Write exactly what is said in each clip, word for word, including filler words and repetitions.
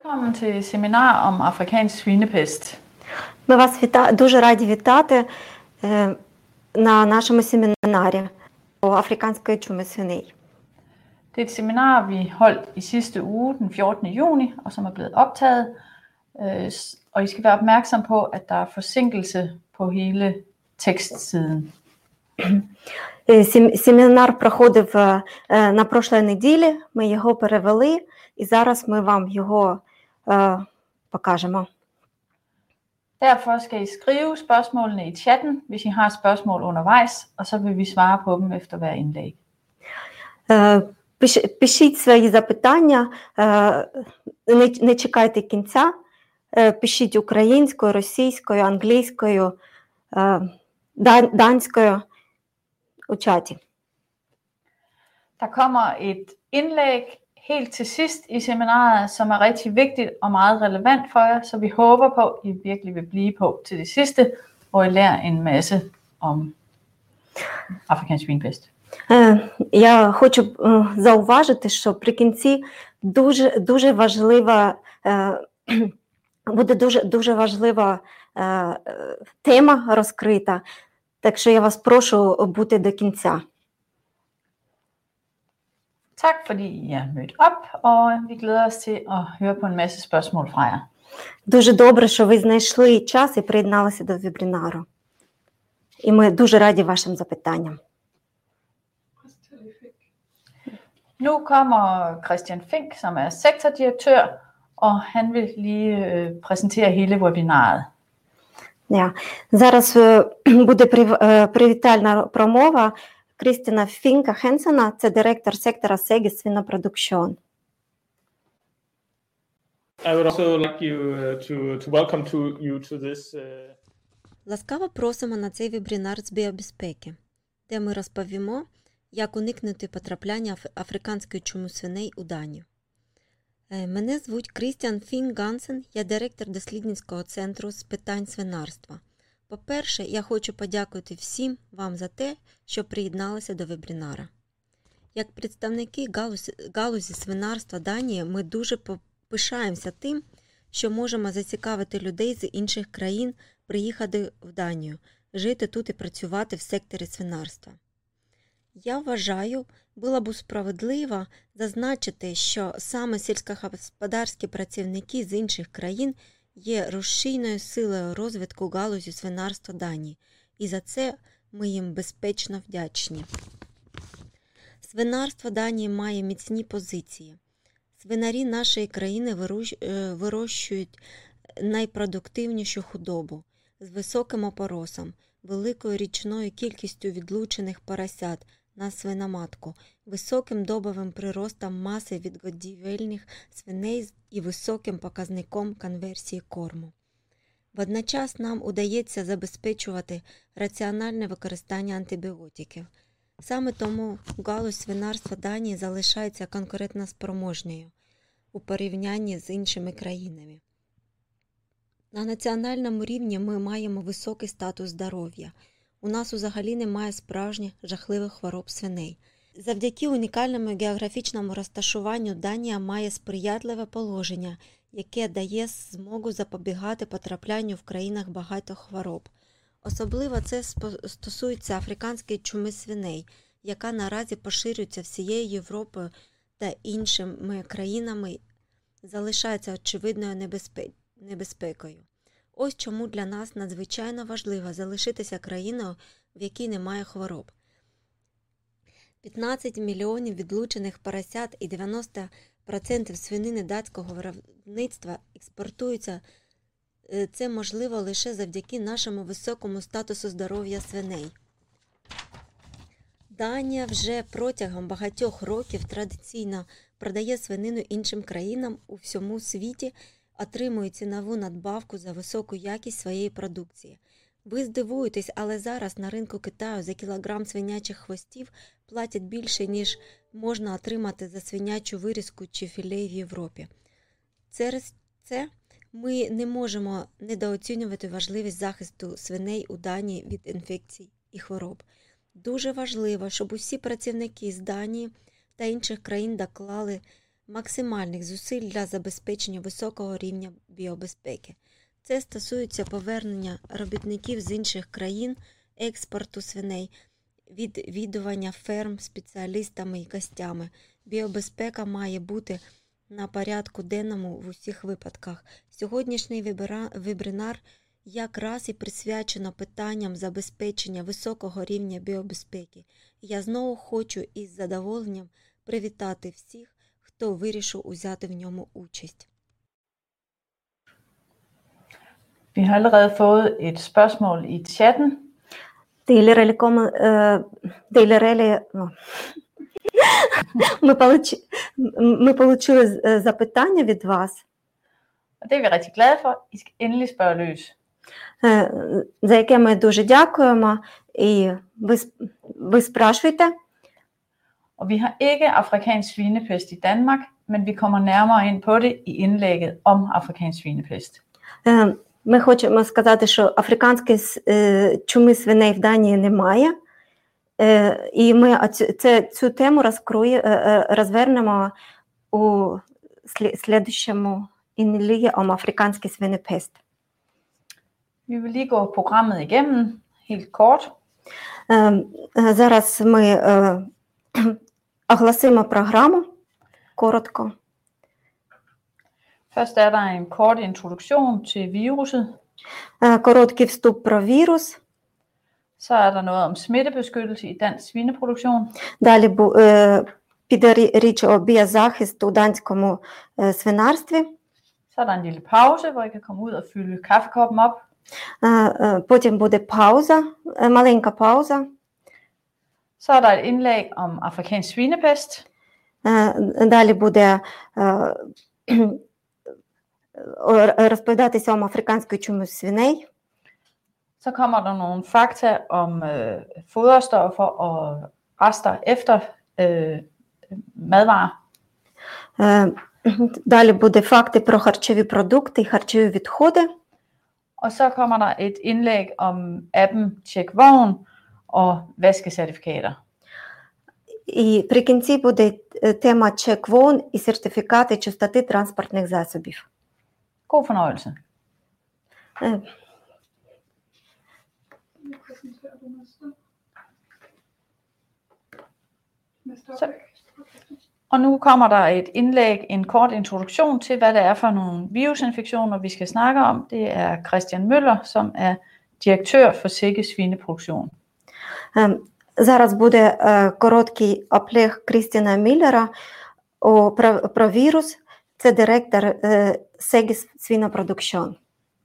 Velkommen til семінар om afrikansk svinepest. Ми вас віта... дуже раді вітати е, на нашому семінарі по африканської чуми свиней. Det er et seminar, vi holdt i sidste uge, den fjortende juni, og som er blevet optaget. Øh, og I skal være opmærksom på, at der er forsinkelse på hele tekstsiden. Семінар проходив е, на прошлій неділі, ми його перевели, і зараз ми вам його е, покажемо. Derfor skal I skrive spørgsmålene i chatten, hvis I har spørgsmål undervejs, og så vil vi svare på dem efter hver indlæg. Пишіть свої запитання, не, не чекайте кінця, пишіть українською, російською, англійською, данською у чаті. Der kommer et indlæg helt til sidst i seminaret, som er rigtig vigtigt og meget relevant for jer, så vi håber på, at I virkelig vil blive på til det sidste, og I lærer en masse om afrikansk svinepest. Я хочу зауважити, що при кінці дуже, дуже важлива, буде дуже, дуже важлива тема розкрита, так що я вас прошу бути до кінця. Tak fordi I er mødt op, og vi glæder os til at høre på en masse spørgsmål fra jer. Дуже добре, що ви знайшли час і приєдналися до вебінару. І ми дуже раді вашим запитанням. Nu kommer Christian Fink, som er sektordirektør, og han vil lige øh, præsentere hele webinaret. Ja. Зараз буде привітальна промова Крістіна Фінка Хенсена, це директор сектора Сегі свинопродукшн. I would also like you to to welcome to you to this. Uh... Ласкаво просимо на цей вебінар з біобезпеки, де ми розповімо, як уникнути потрапляння африканської чуми свиней у Данію. Мене звуть Крістіан Фінк Гансен, я директор дослідницького центру з питань свинарства. По-перше, я хочу подякувати всім вам за те, що приєдналися до вебінара. Як представники галузі, галузі свинарства Данії, ми дуже пишаємося тим, що можемо зацікавити людей з інших країн приїхати в Данію, жити тут і працювати в секторі свинарства. Я вважаю, було б справедливо зазначити, що саме сільськогосподарські працівники з інших країн є рушійною силою розвитку галузі свинарства Данії, і за це ми їм безпечно вдячні. Свинарство Данії має міцні позиції. Свинарі нашої країни вирощують найпродуктивнішу худобу з високим опоросом, великою річною кількістю відлучених поросят на свиноматку, високим добовим приростом маси відгодівельних свиней і високим показником конверсії корму. Водночас нам удається забезпечувати раціональне використання антибіотиків. Саме тому галузь свинарства Данії залишається конкурентоспроможною у порівнянні з іншими країнами. На національному рівні ми маємо високий статус здоров'я. У нас взагалі немає справжніх жахливих хвороб свиней. Завдяки унікальному географічному розташуванню Данія має сприятливе положення, яке дає змогу запобігати потраплянню в країнах багато хвороб. Особливо це стосується африканської чуми свиней, яка наразі поширюється всією Європою та іншими країнами, залишається очевидною небезпекою. Ось чому для нас надзвичайно важливо залишитися країною, в якій немає хвороб. п'ятнадцять мільйонів відлучених поросят і дев'яносто відсотків свинини датського виробництва експортуються. Це можливо лише завдяки нашому високому статусу здоров'я свиней. Данія вже протягом багатьох років традиційно продає свинину іншим країнам у всьому світі, отримує цінову надбавку за високу якість своєї продукції. Ви здивуєтесь, але зараз на ринку Китаю за кілограм свинячих хвостів платять більше, ніж можна отримати за свинячу вирізку чи філе в Європі. Через це ми не можемо недооцінювати важливість захисту свиней у Данії від інфекцій і хвороб. Дуже важливо, щоб усі працівники з Данії та інших країн доклали максимальних зусиль для забезпечення високого рівня біобезпеки. Це стосується повернення робітників з інших країн, експорту свиней, відвідування ферм спеціалістами і гостями. Біобезпека має бути на порядку денному в усіх випадках. Сьогоднішній вебінар якраз і присвячено питанням забезпечення високого рівня біобезпеки. Я знову хочу із задоволенням привітати всіх, хто вирішив узяти в ньому участь. Vi har allerede fået et spørgsmål i chatten. Дейлерелі комен... Дейлерелі... Ми, получ... Ми получили запитання від вас. Og det er vi rigtig glade for. I skal endelig spørge løs. За яке ми дуже дякуємо. І ви, ви спрашуєте. Og vi har ikke afrikansk svinepest i Danmark, men vi kommer nærmere ind på det i indlægget om afrikansk svinepest. Ми хочемо сказати, що африканської чуми свиней в Данії немає. І ми це, цю тему розкрує, розвернемо у слідчому indlæg om afrikansk svinepest. Vi vil lige gå programmet igennem helt kort. Зараз ми оголосимо програму коротко. Først er der en kort introduktion til viruset. Короткий вступ про вірус. Så er der noget om smittebeskyttelse i dansk svineproduktion. Далі піде річ о біозахист у данському свинарстві. Så er der en lille pause, hvor I kan komme ud og fylde kaffekoppen op. Потім буде пауза, маленька пауза. Så er der et indlæg om afrikansk svinepest. Далі буде розповідатися om африканської чуми свиней. Så kommer der nogle fakta om øh, foderstoffer og rester efter øh, madvarer. Далі буде факти про харчові продукти і харчові відходи. Og så kommer der et indlæg om appen Checkvogn og vaskecertifikater. І при кінці буде тема Checkvogn і сертифікати чистоти транспортних засобів. God fornøjelse. Så. Og nu kommer der et indlæg, en kort introduktion til, hvad det er for nogle virusinfektioner, vi skal snakke om. Det er Christian Møller, som er direktør for Sikke Svineproduktion. Зараз буде короткий оплег Крістіна Міллера про, про вірус. Це директор Sikke Svineproduktion.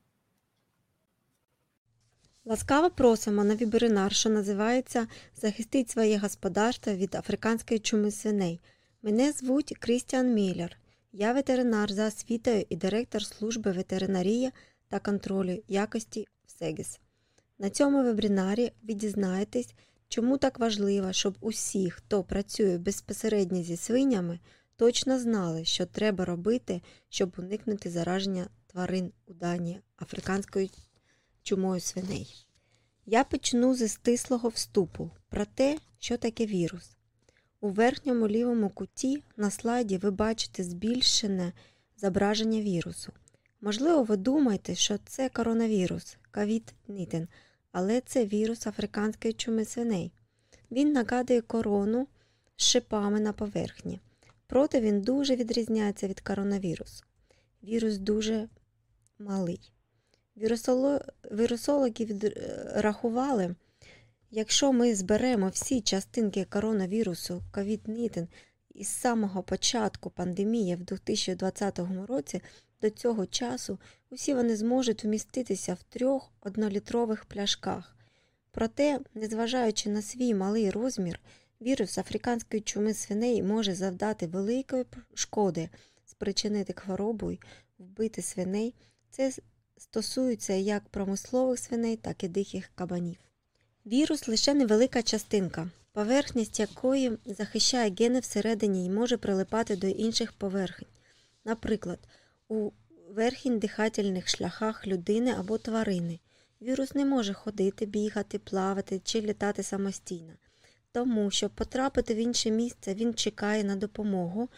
Ласкаво просимо на вебінар, що називається «Захистіть своє господарство від африканської чуми свиней». Мене звуть Крістіан Міллер. Я ветеринар за освітою і директор служби ветеринарії та контролю якості в Сегіс. На цьому вебінарі ви дізнаєтесь, чому так важливо, щоб усі, хто працює безпосередньо зі свинями, точно знали, що треба робити, щоб уникнути зараження тварин у Данії африканською чумою свиней. Я почну зі стислого вступу про те, що таке вірус. У верхньому лівому куті на слайді ви бачите збільшене зображення вірусу. Можливо, ви думаєте, що це коронавірус, ковід дев'ятнадцять, але це вірус африканської чуми свиней. Він нагадує корону з шипами на поверхні. Проте він дуже відрізняється від коронавірусу. Вірус дуже малий. Вірусологи відрахували, якщо ми зберемо всі частинки коронавірусу ковід дев'ятнадцять із самого початку пандемії в дві тисячі двадцятому році, до цього часу усі вони зможуть вміститися в трьох однолітрових пляшках. Проте, незважаючи на свій малий розмір, вірус африканської чуми свиней може завдати великої шкоди, спричинити хворобу й вбити свиней. Це стосується як промислових свиней, так і диких кабанів. Вірус – лише невелика частинка, поверхність якої захищає гени всередині і може прилипати до інших поверхень. Наприклад, у верхніх дихательних шляхах людини або тварини. Вірус не може ходити, бігати, плавати чи літати самостійно. Тому, щоб потрапити в інше місце, він чекає на допомогу.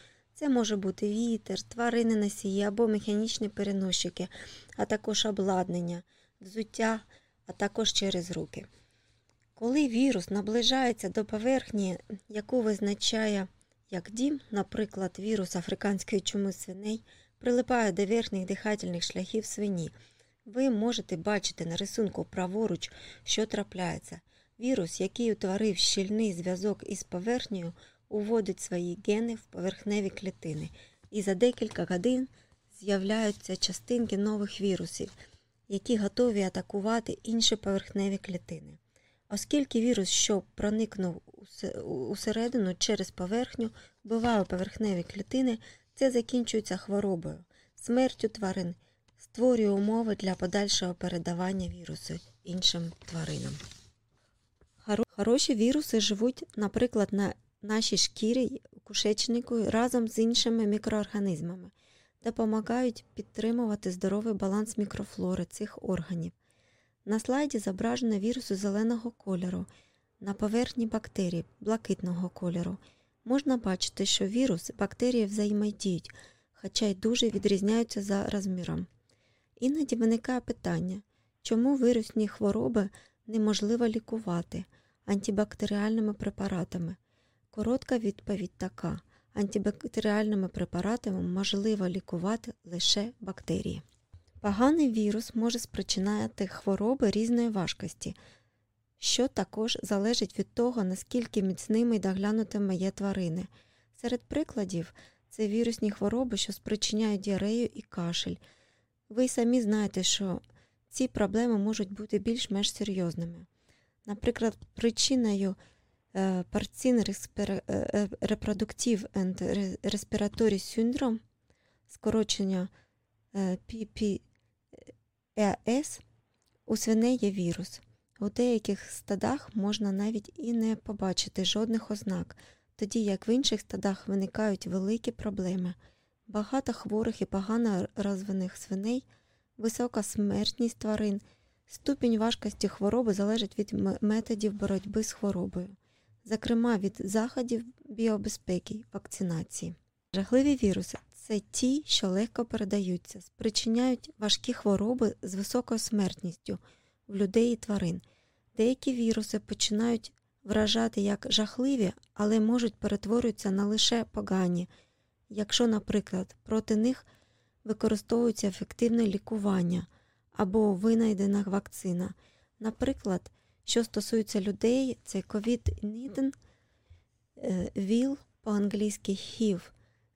Це може бути вітер, тварини носії або механічні переносчики, а також обладнання, взуття, а також через руки. Коли вірус наближається до поверхні, яку визначає як дім, наприклад, вірус африканської чуми свиней, прилипає до верхніх дихательних шляхів свині, ви можете бачити на рисунку праворуч, що трапляється. Вірус, який утворив щільний зв'язок із поверхнею, уводить свої гени в поверхневі клітини, і за декілька годин з'являються частинки нових вірусів, які готові атакувати інші поверхневі клітини. Оскільки вірус, що проникнув усередину через поверхню, вбиває поверхневі клітини, це закінчується хворобою, смертю тварин, створює умови для подальшого передавання вірусу іншим тваринам. Хороші віруси живуть, наприклад, на нашій шкірі, кишечнику разом з іншими мікроорганізмами, допомагають підтримувати здоровий баланс мікрофлори цих органів. На слайді зображено віруси зеленого кольору, на поверхні бактерій блакитного кольору. Можна бачити, що вірус і бактерії взаємодіють, хоча й дуже відрізняються за розміром. Іноді виникає питання, чому вірусні хвороби неможливо лікувати антибактеріальними препаратами? Коротка відповідь така – антибактеріальними препаратами можливо лікувати лише бактерії. Поганий вірус може спричиняти хвороби різної важкості, що також залежить від того, наскільки міцними і доглянутими є тварини. Серед прикладів – це вірусні хвороби, що спричиняють діарею і кашель. Ви самі знаєте, що ці проблеми можуть бути більш-менш серйозними. Наприклад, причиною Porcine Reproductive and Respiratory Syndrome, скорочення пі пі і ес, у свиней є вірус. У деяких стадах можна навіть і не побачити жодних ознак, тоді як в інших стадах виникають великі проблеми. Багато хворих і погано розвинених свиней, висока смертність тварин, ступінь важкості хвороби залежить від методів боротьби з хворобою, зокрема від заходів біобезпеки, вакцинації. Жахливі віруси – це ті, що легко передаються, спричиняють важкі хвороби з високою смертністю в людей і тварин. Деякі віруси починають вражати як жахливі, але можуть перетворюватися на лише погані, якщо, наприклад, проти них використовується ефективне лікування або винайдена вакцина. Наприклад, що стосується людей, це ковід найтинадцять, ВІЛ, по-англійськи хів,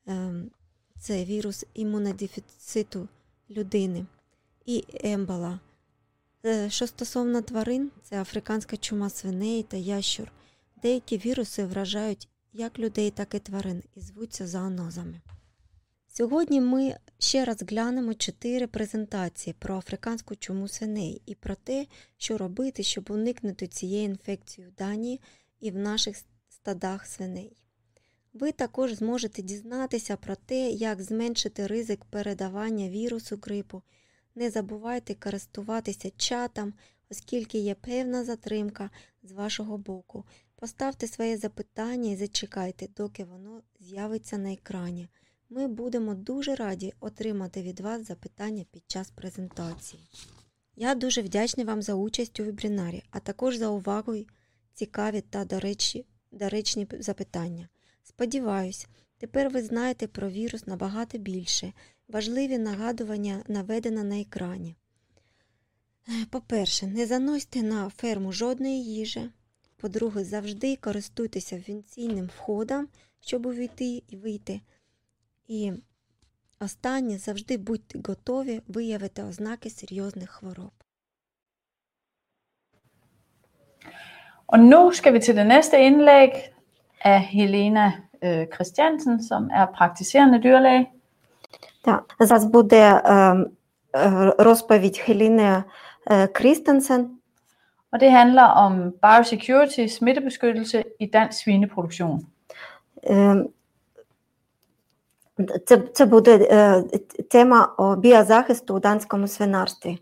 це вірус імунодефіциту людини, і ембола. Що стосовно тварин, це африканська чума свиней та ящур. Деякі віруси вражають як людей, так і тварин і звуться зоонозами. Сьогодні ми ще раз глянемо чотири презентації про африканську чуму свиней і про те, що робити, щоб уникнути цієї інфекції в Данії і в наших стадах свиней. Ви також зможете дізнатися про те, як зменшити ризик передавання вірусу грипу. Не забувайте користуватися чатом, оскільки є певна затримка з вашого боку. Поставте своє запитання і зачекайте, доки воно з'явиться на екрані. Ми будемо дуже раді отримати від вас запитання під час презентації. Я дуже вдячна вам за участь у вебінарі, а також за увагу, цікаві та доречні, доречні запитання. Сподіваюсь, тепер ви знаєте про вірус набагато більше. Важливі нагадування наведено на екрані. По-перше, не заносьте на ферму жодної їжі. По-друге, завжди користуйтеся вентильним входом, щоб увійти і вийти. І останнє, завжди будьте готові виявити ознаки серйозних хвороб. Og nu skal vi til det næste indlæg af Helena øh, Christiansen, som er praktiserende dyrlæge. Так, зараз буде е, розповідь Хеліни Крістенсен. Og det handler om biosecurity, smittebeskyttelse i dansk svineproduktion. Е, це, це буде е, тема біозахисту у данському свинарстві.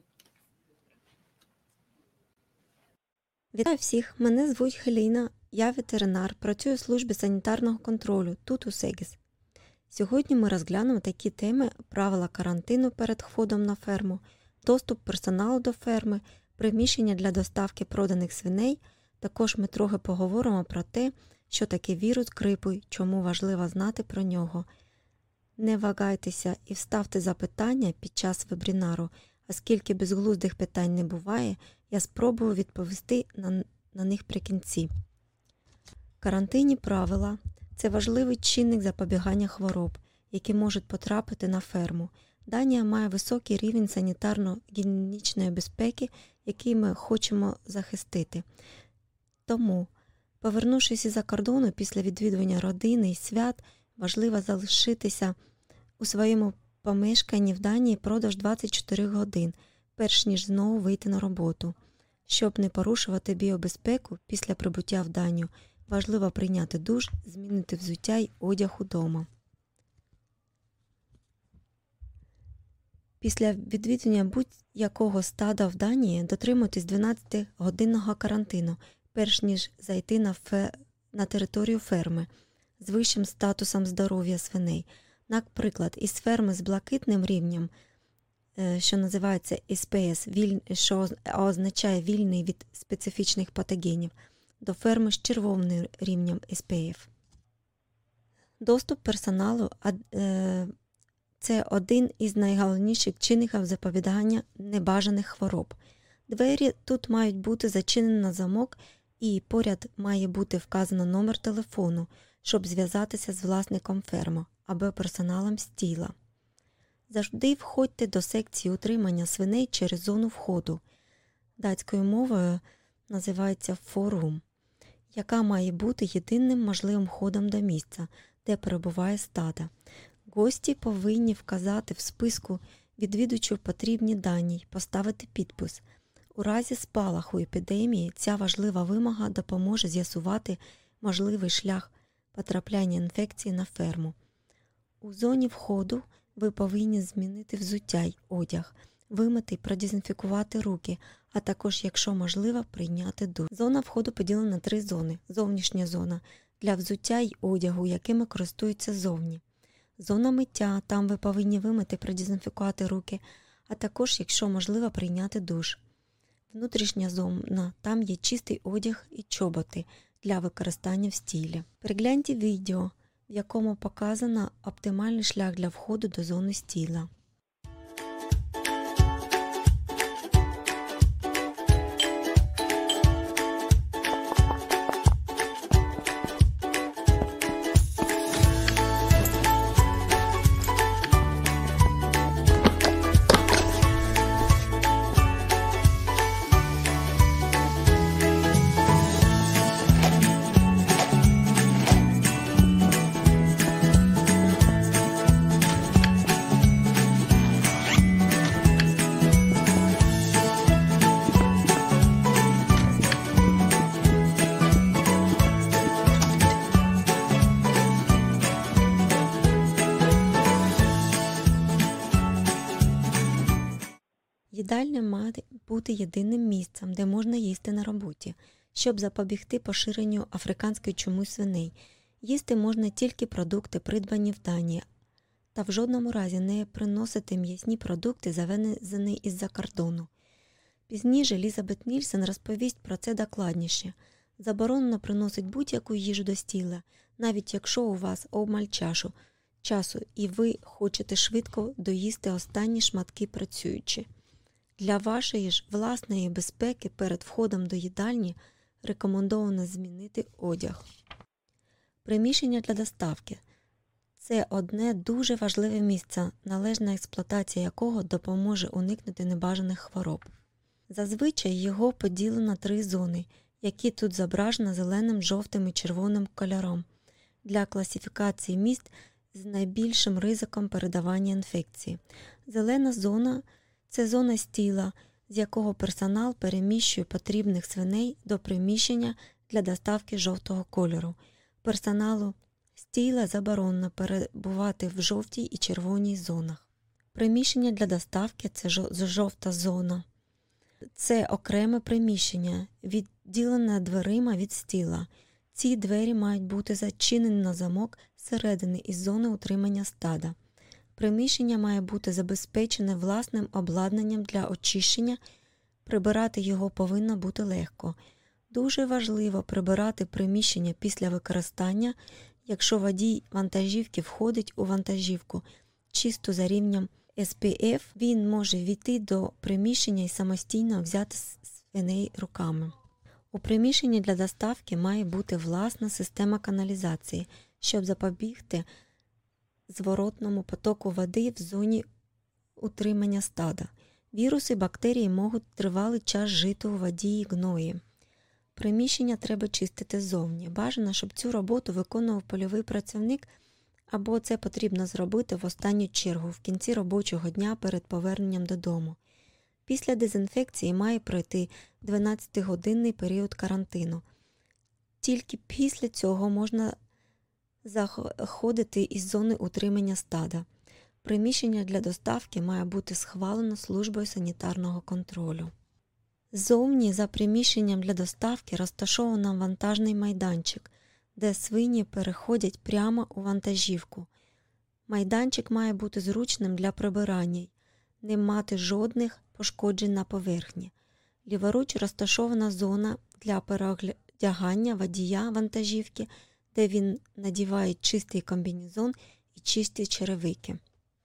Вітаю всіх, мене звуть Хеліна, я ветеринар, працюю у службі санітарного контролю тут у Сегіс. Сьогодні ми розглянемо такі теми: правила карантину перед входом на ферму, доступ персоналу до ферми, приміщення для доставки проданих свиней. Також ми трохи поговоримо про те, що таке вірус грипу й чому важливо знати про нього. Не вагайтеся і вставте запитання під час вебінару, оскільки безглуздих питань не буває, я спробую відповісти на, на них при кінці. Карантинні правила – це важливий чинник запобігання хвороб, які можуть потрапити на ферму. Данія має високий рівень санітарно-гігієнічної безпеки, який ми хочемо захистити. Тому, повернувшись із-за кордону після відвідування родини і свят, важливо залишитися у своєму помешканні в Данії впродовж двадцять чотири годин, перш ніж знову вийти на роботу. Щоб не порушувати біобезпеку після прибуття в Данію, важливо прийняти душ, змінити взуття й одяг удома. Після відвідування будь-якого стада в Данії дотримуйтесь дванадцятигодинного карантину, перш ніж зайти на, фе... на територію ферми з вищим статусом здоров'я свиней. Наприклад, із ферми з блакитним рівнем, що називається ес пі ес, що означає вільний від специфічних патогенів, до ферми з червоним рівнем ес пі еф. Доступ персоналу – це один із найголовніших чинників запобігання небажаних хвороб. Двері тут мають бути зачинені на замок і поряд має бути вказано номер телефону, щоб зв'язатися з власником ферми або персоналом стіла. Завжди входьте до секції утримання свиней через зону входу. Датською мовою називається форум, яка має бути єдиним можливим входом до місця, де перебуває стадо. Гості повинні вказати в списку відвідувачів потрібні дані й поставити підпис. У разі спалаху епідемії ця важлива вимога допоможе з'ясувати можливий шлях потрапляння інфекції на ферму. У зоні входу ви повинні змінити взуття й одяг, вимити й продезінфікувати руки, а також, якщо можливо, прийняти душ. Зона входу поділена на три зони. Зовнішня зона – для взуття й одягу, якими користуються зовні. Зона миття – там ви повинні вимити й продезінфікувати руки, а також, якщо можливо, прийняти душ. Внутрішня зона – там є чистий одяг і чоботи для використання в стілі. Перегляньте відео, в якому показано оптимальний шлях для входу до зони стіла. Їдальня має бути єдиним місцем, де можна їсти на роботі, щоб запобігти поширенню африканської чуми свиней. Їсти можна тільки продукти, придбані в Данії, та в жодному разі не приносити м'ясні продукти, завезені із-за кордону. Пізніше Елізабет Нільсен розповість про це докладніше. Заборонено приносити будь-яку їжу до стіла, навіть якщо у вас обмаль чашу, часу і ви хочете швидко доїсти останні шматки працюючи. Для вашої ж власної безпеки перед входом до їдальні рекомендовано змінити одяг. Приміщення для доставки – це одне дуже важливе місце, належна експлуатація якого допоможе уникнути небажаних хвороб. Зазвичай його поділено на три зони, які тут зображено зеленим, жовтим і червоним кольором, для класифікації місць з найбільшим ризиком передавання інфекції. Зелена зона – це зона стіла, з якого персонал переміщує потрібних свиней до приміщення для доставки жовтого кольору. Персоналу стіла заборонено перебувати в жовтій і червоній зонах. Приміщення для доставки – це жовта зона. Це окреме приміщення, відділене дверима від стіла. Ці двері мають бути зачинені на замок зсередини із зони утримання стада. Приміщення має бути забезпечене власним обладнанням для очищення, прибирати його повинно бути легко. Дуже важливо прибирати приміщення після використання, якщо водій вантажівки входить у вантажівку чисто за рівнем ес пі еф, він може війти до приміщення і самостійно взяти свиней руками. У приміщенні для доставки має бути власна система каналізації, щоб запобігти зворотному потоку води в зоні утримання стада. Віруси і бактерії можуть тривалий час жити у воді і гної. Приміщення треба чистити ззовні. Бажано, щоб цю роботу виконував польовий працівник, або це потрібно зробити в останню чергу, в кінці робочого дня перед поверненням додому. Після дезінфекції має пройти дванадцятигодинний період карантину. Тільки після цього можна заходити із зони утримання стада. Приміщення для доставки має бути схвалено службою санітарного контролю. Ззовні за приміщенням для доставки розташовано вантажний майданчик, де свині переходять прямо у вантажівку. Майданчик має бути зручним для прибирання, не мати жодних пошкоджень на поверхні. Ліворуч розташована зона для переодягання водія вантажівки, де він надіває чистий комбінезон і чисті черевики.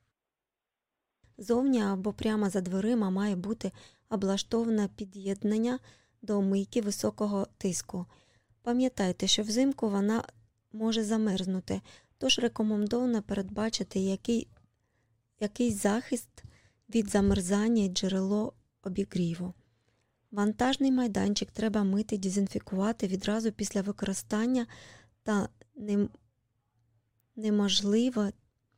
Зовні або прямо за дверима має бути облаштоване під'єднання до мийки високого тиску. Пам'ятайте, що взимку вона може замерзнути, тож рекомендовано передбачити який, якийсь захист від замерзання і джерело обігріву. Вантажний майданчик треба мити, дезінфікувати відразу після використання та нем... неможливе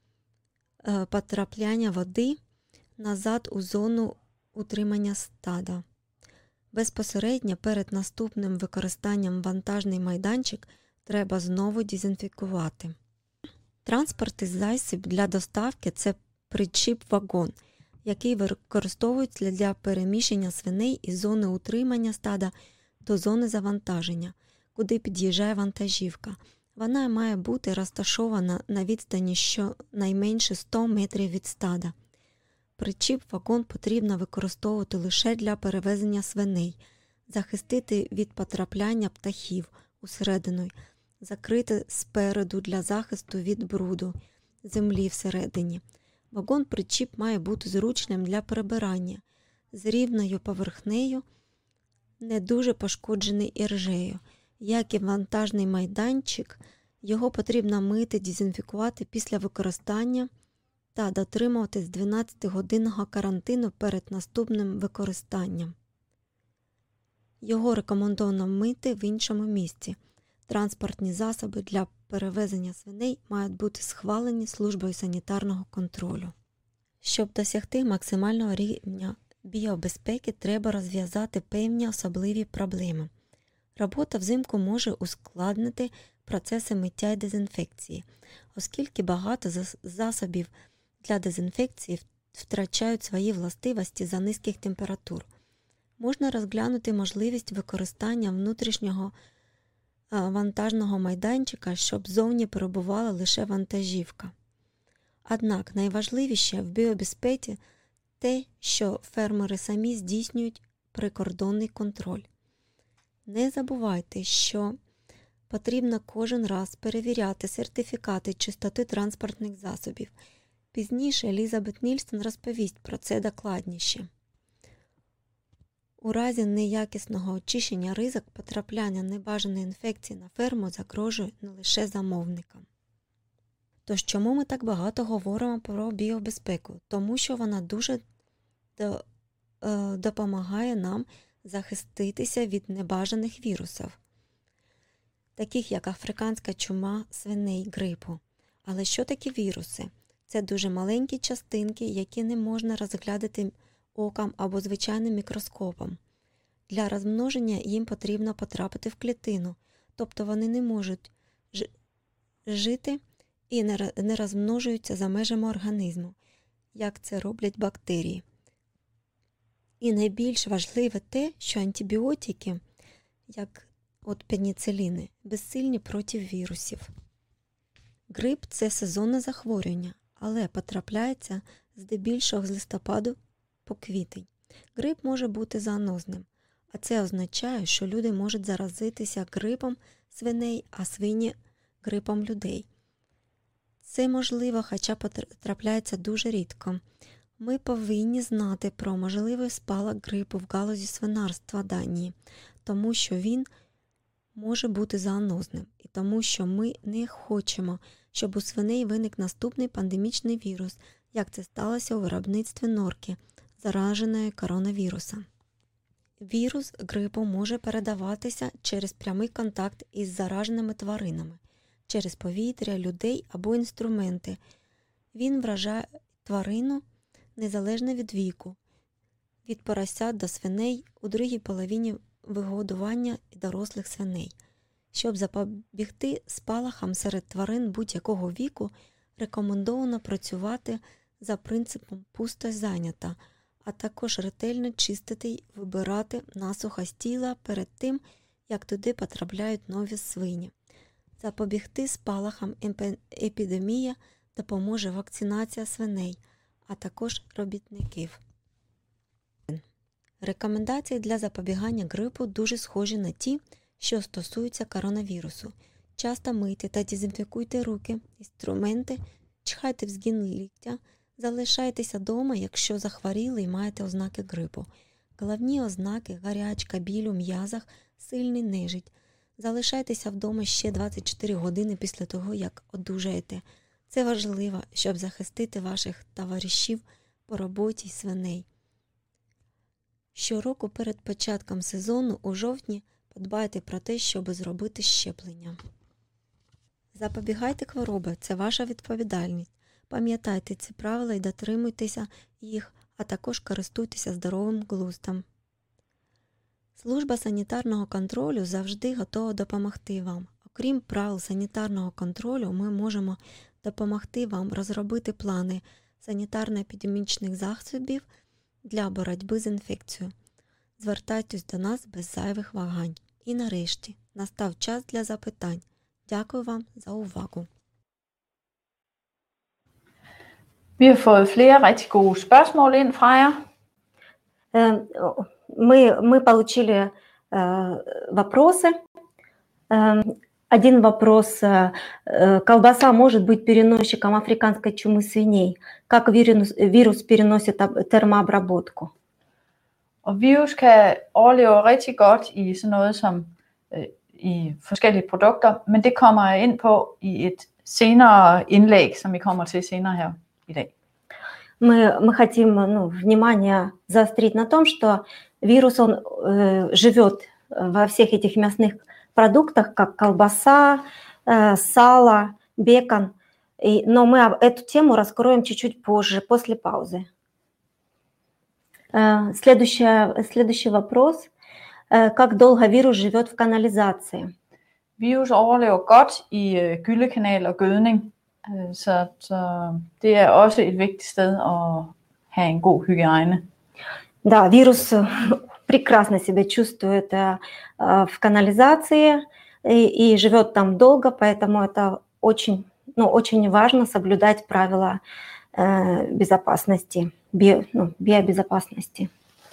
е, потрапляння води назад у зону утримання стада. Безпосередньо перед наступним використанням вантажний майданчик треба знову дезінфікувати. Транспортний засіб для доставки – це причіп-вагон, який використовується для переміщення свиней із зони утримання стада до зони завантаження, куди під'їжджає вантажівка. Вона має бути розташована на відстані щонайменше сто метрів від стада. Причіп-вагон потрібно використовувати лише для перевезення свиней, захистити від потрапляння птахів усередину, закрити спереду для захисту від бруду, землі всередині. Вагон-причіп має бути зручним для перебирання, з рівною поверхнею, не дуже пошкоджений іржею. Як і вантажний майданчик, його потрібно мити, дезінфікувати після використання та дотримуватись дванадцятигодинного карантину перед наступним використанням. Його рекомендовано мити в іншому місці. Транспортні засоби для перевезення свиней мають бути схвалені службою санітарного контролю. Щоб досягти максимального рівня біобезпеки, треба розв'язати певні особливі проблеми. Робота взимку може ускладнити процеси миття і дезінфекції, оскільки багато засобів для дезінфекції втрачають свої властивості за низьких температур. Можна розглянути можливість використання внутрішнього вантажного майданчика, щоб зовні перебувала лише вантажівка. Однак найважливіше в біобезпеці те, що фермери самі здійснюють прикордонний контроль. Не забувайте, що потрібно кожен раз перевіряти сертифікати чистоти транспортних засобів. Пізніше Елізабет Нільсон розповість про це докладніше. У разі неякісного очищення ризик потрапляння небажаної інфекції на ферму загрожує не лише замовникам. Тож чому ми так багато говоримо про біобезпеку? Тому що вона дуже до, е, допомагає нам захиститися від небажаних вірусів, таких як африканська чума, свиней, грипу. Але що такі віруси? Це дуже маленькі частинки, які не можна розглядати оком або звичайним мікроскопом. Для розмноження їм потрібно потрапити в клітину, тобто вони не можуть жити і не розмножуються за межами організму, як це роблять бактерії. І найбільш важливе те, що антибіотики, як от пеніциліни, безсильні проти вірусів. Грип – це сезонне захворювання, але потрапляється здебільшого з листопаду по квітень. Грип може бути зоонозним, а це означає, що люди можуть заразитися грипом свиней, а свині – грипом людей. Це можливо, хоча потрапляється дуже рідко. Ми повинні знати про можливий спалах грипу в галузі свинарства Данії, тому що він може бути зоонозним і тому, що ми не хочемо, щоб у свиней виник наступний пандемічний вірус, як це сталося у виробництві норки, зараженої коронавірусом. Вірус грипу може передаватися через прямий контакт із зараженими тваринами, через повітря, людей або інструменти. Він вражає тварину незалежно від віку, від поросят до свиней у другій половині вигодування дорослих свиней. Щоб запобігти спалахам серед тварин будь-якого віку, рекомендовано працювати за принципом «пусто зайнята», а також ретельно чистити й вибирати насухо з тіла перед тим, як туди потрапляють нові свині. Запобігти спалахам епідемії допоможе вакцинація свиней, а також робітників. Рекомендації для запобігання грипу дуже схожі на ті, що стосуються коронавірусу. Часто мийте та дезінфікуйте руки, інструменти, чхайте в згин ліктя, залишайтеся вдома, якщо захворіли і маєте ознаки грипу. Головні ознаки – гарячка, біль у м'язах, сильний нежить. Залишайтеся вдома ще двадцять чотири години після того, як одужаєте. Це важливо, щоб захистити ваших товаришів по роботі й свиней. Щороку перед початком сезону у жовтні подбайте про те, щоб зробити щеплення. Запобігайте хвороби – це ваша відповідальність. Пам'ятайте ці правила і дотримуйтеся їх, а також користуйтеся здоровим глуздом. Служба санітарного контролю завжди готова допомогти вам. Окрім правил санітарного контролю, ми можемо допомогти вам розробити плани санітарно-епідемічних засобів для боротьби з інфекцією. Звертайтесь до нас без зайвих вагань. І нарешті, настав час для запитань. Дякую вам за увагу. Vi har fået flere rigtig gode spørgsmål ind fra jer. Мы, мы получили вопросы. Один вопрос. Колбаса может быть переносчиком африканской чумы свиней. Как вирус, вирус переносит термообработку? Og virus kan overleve rigtig godt i sådan noget som øh, i forskellige produkter, men det kommer jeg ind på i et senere indlæg, som vi kommer til senere her i dag. Мы, мы хотим ну, внимание заострить на том, что вирус он э, живет во всех этих мясных продуктах, как колбаса, э, сало, бекон. И, но мы эту тему раскроем чуть-чуть позже, после паузы. Э, следующий, следующий вопрос. Э, как долго вирус живет в канализации? Virus overlever godt i øh, gyllekanal og gødning, øh, så, så det er også et vigtigt sted at have en god hygiejne. Да, вирус прекрасно себя чувствует э, в канализации и, и живет там долго, поэтому это очень, ну, очень важно соблюдать правила э, безопасности, био, ну, биобезопасности.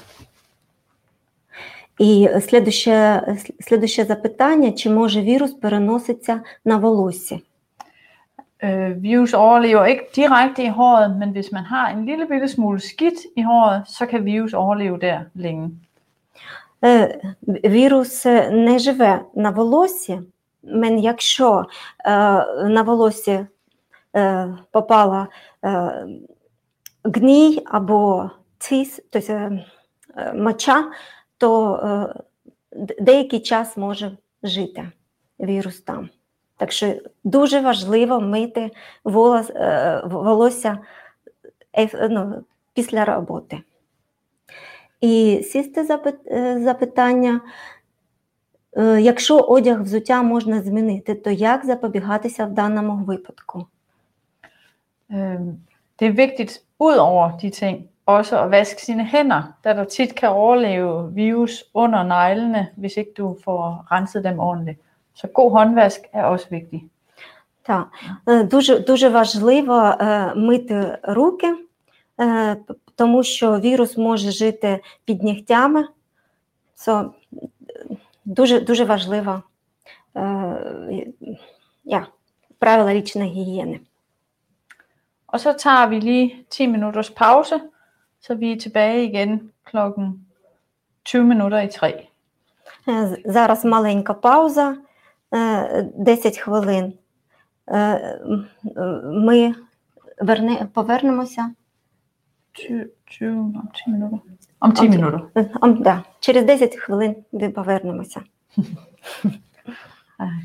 І следующее, следующее запитання, чи може вірус переноситься на волосся? Øh, virus overlever ikke direkte i håret, men hvis man har en lille bitte smule skidt i håret, så kan virus overleve der længe. Е, вірус не живе на волоссі, men якщо е, на волосі е, попала е, гній або цис, тобто е, моча, то е, деякий час може жити вірус там. Так що дуже важливо мити волос, е, волосся е, ну, після роботи. І сісте запит, е, запитання, е, якщо одяг взуття можна змінити, то як запобігатися в даному випадку? Øh, det er vigtigt ud over de ting, også at vaske sine hænder, da der tit kan overleve virus under neglene, hvis ikke du får renset dem ordentligt. Så god håndvask er også vigtig. Так, Е, дуже, дуже важливо е, мити руки, е, п- тому що вірус може жити під нігтями. Це дуже, дуже важливо. Е, ja, правила річної гігієни. Og så tager vi lige ti minutters pause, så vi er tilbage igen klokken tyve minutter i tre. Е, з- Зараз маленька пауза, е, десять хвилин. Е, м, е, Ми верне, повернемося. tyve, tyve, om ti minutter. Om ti Om ti- minutter. Е, ом, да, через десять хвилин ми повернемося. Ej.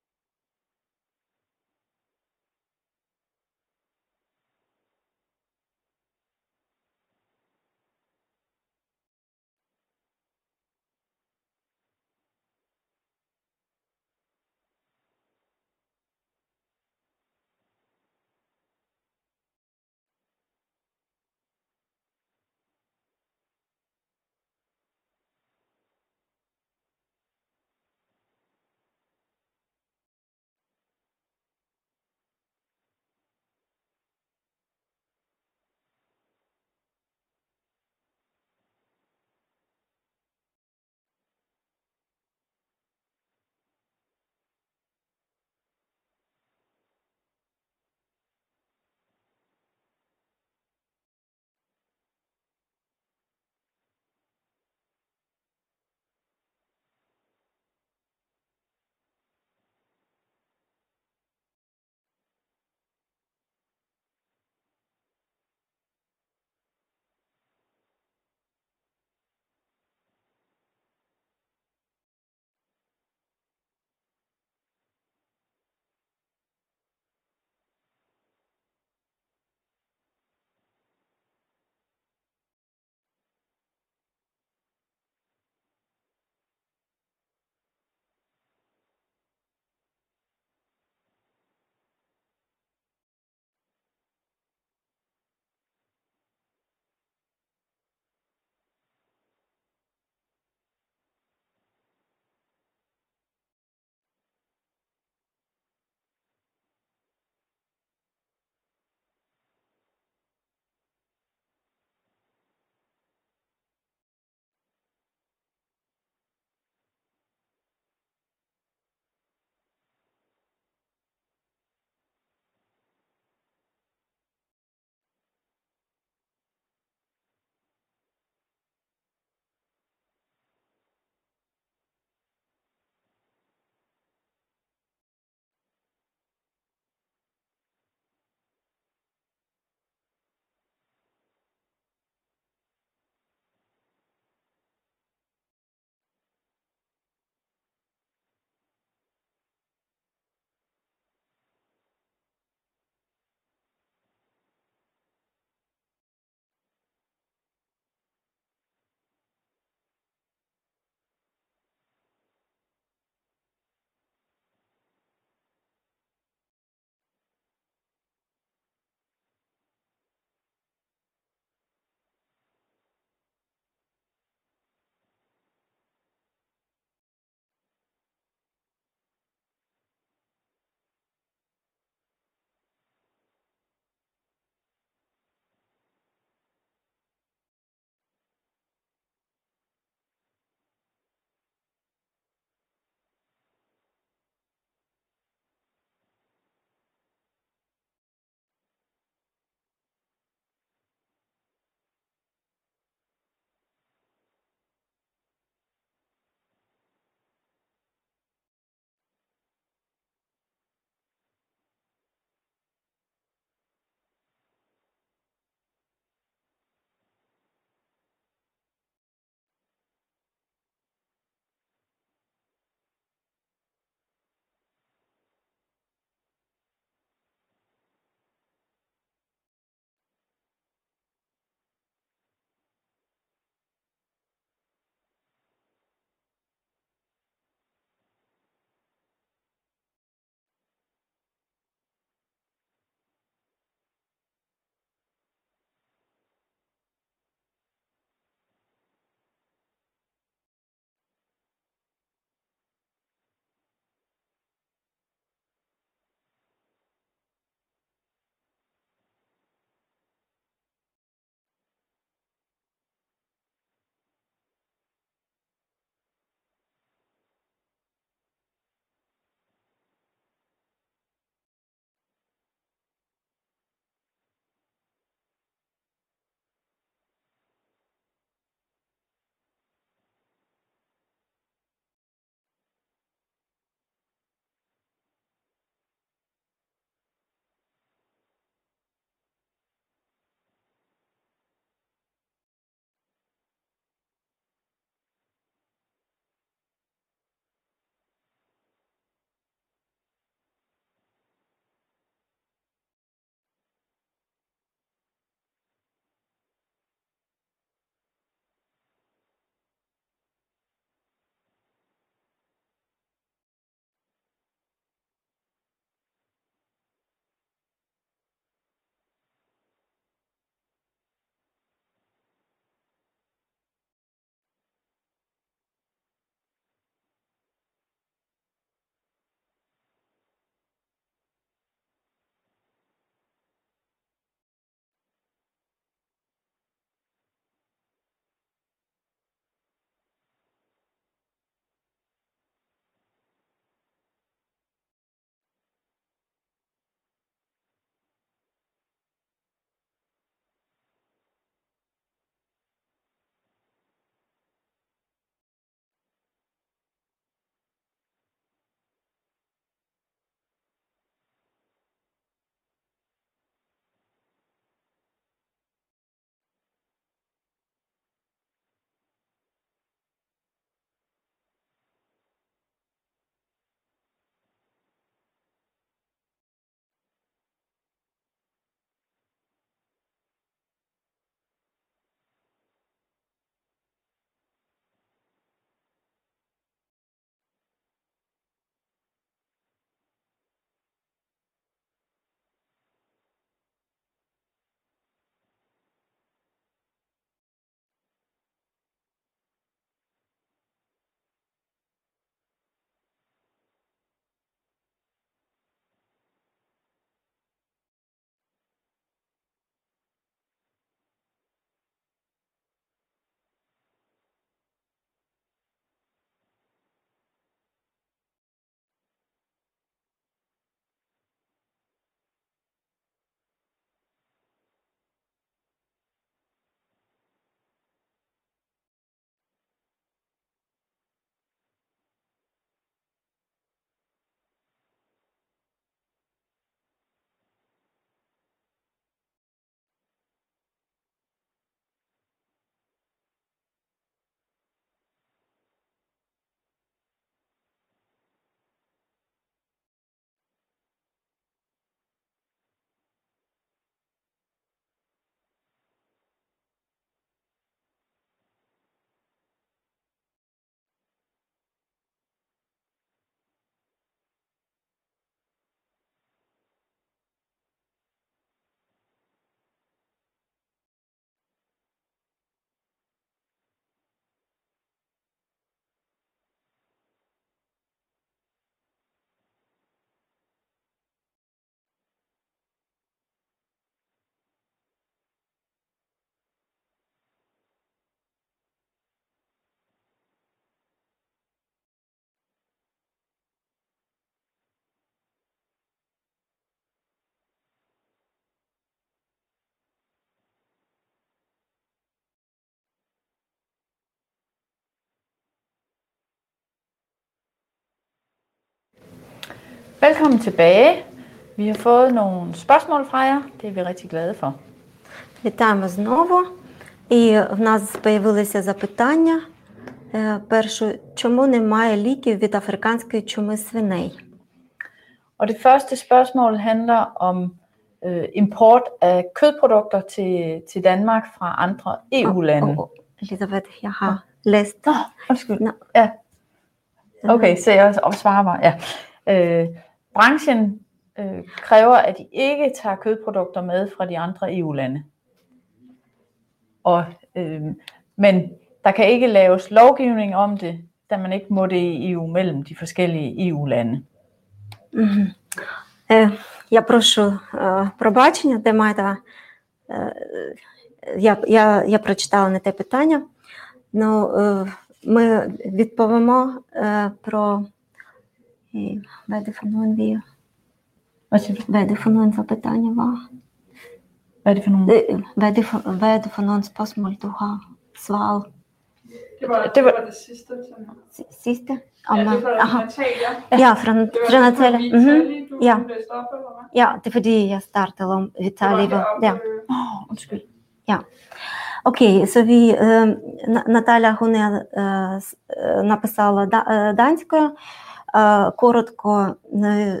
Velkommen tilbage. Vi har fået nogle spørgsmål fra jer. Det er vi rigtig glade for. Вітаємо знову. І в нас з'явилися запитання. Перше, чому немає ліків від африканської чуми свиней? Og det første spørgsmål handler om øh, import af kødprodukter til, til Danmark fra andre E U-lande. О, Елізабет, я har læst. Nå, undskyld. Nå. Ja. Okay, så jeg svarer mig. Ja. Øh, branchen øh, kræver, at de ikke tager kødprodukter med fra de andre E U-lande. Og, øh, men der kan ikke laves lovgivning om det, da man ikke må det i E U mellem de forskellige E U-lande. Угу. Е, я прошу е, пробачення, де маєте, е, я, я, я прочитала не те питання. Ну, е, ми відповімо е, про hvad er det for nogen vi hvad er det for nogen запитання var? Hvad er det for nogle? Hvad er det for, hvad er det for nogle spørgsmål du har svaret? Det var Det det, var- var det sidste. Som... Sidste? Ja, det var Aha. Natalia. Ja, fra, Det var fra fra Natalia. Vitali, Mhm. du Ja. læste op, eller hvad? Ja, det er fordi jeg startede om Vitali. Det var Ja. heroppe, øh, Åh, undskyld. Окей, så vi, е, На- Наталя Гуне е, с- е, написала да- е, данською. Е, Коротко, е,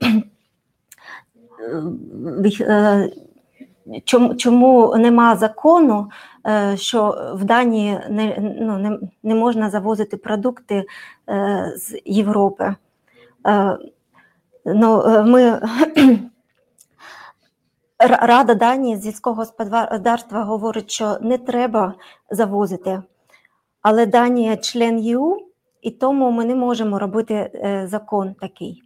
вих- е, чому, чому нема закону, е, що в Данії не, ну, не, не можна завозити продукти е, з Європи. Е, Ну, е, ми Р- Рада Данії з сільського господарства говорить, що не треба завозити. Але Данія член Е У, і тому ми не можемо робити е, закон такий.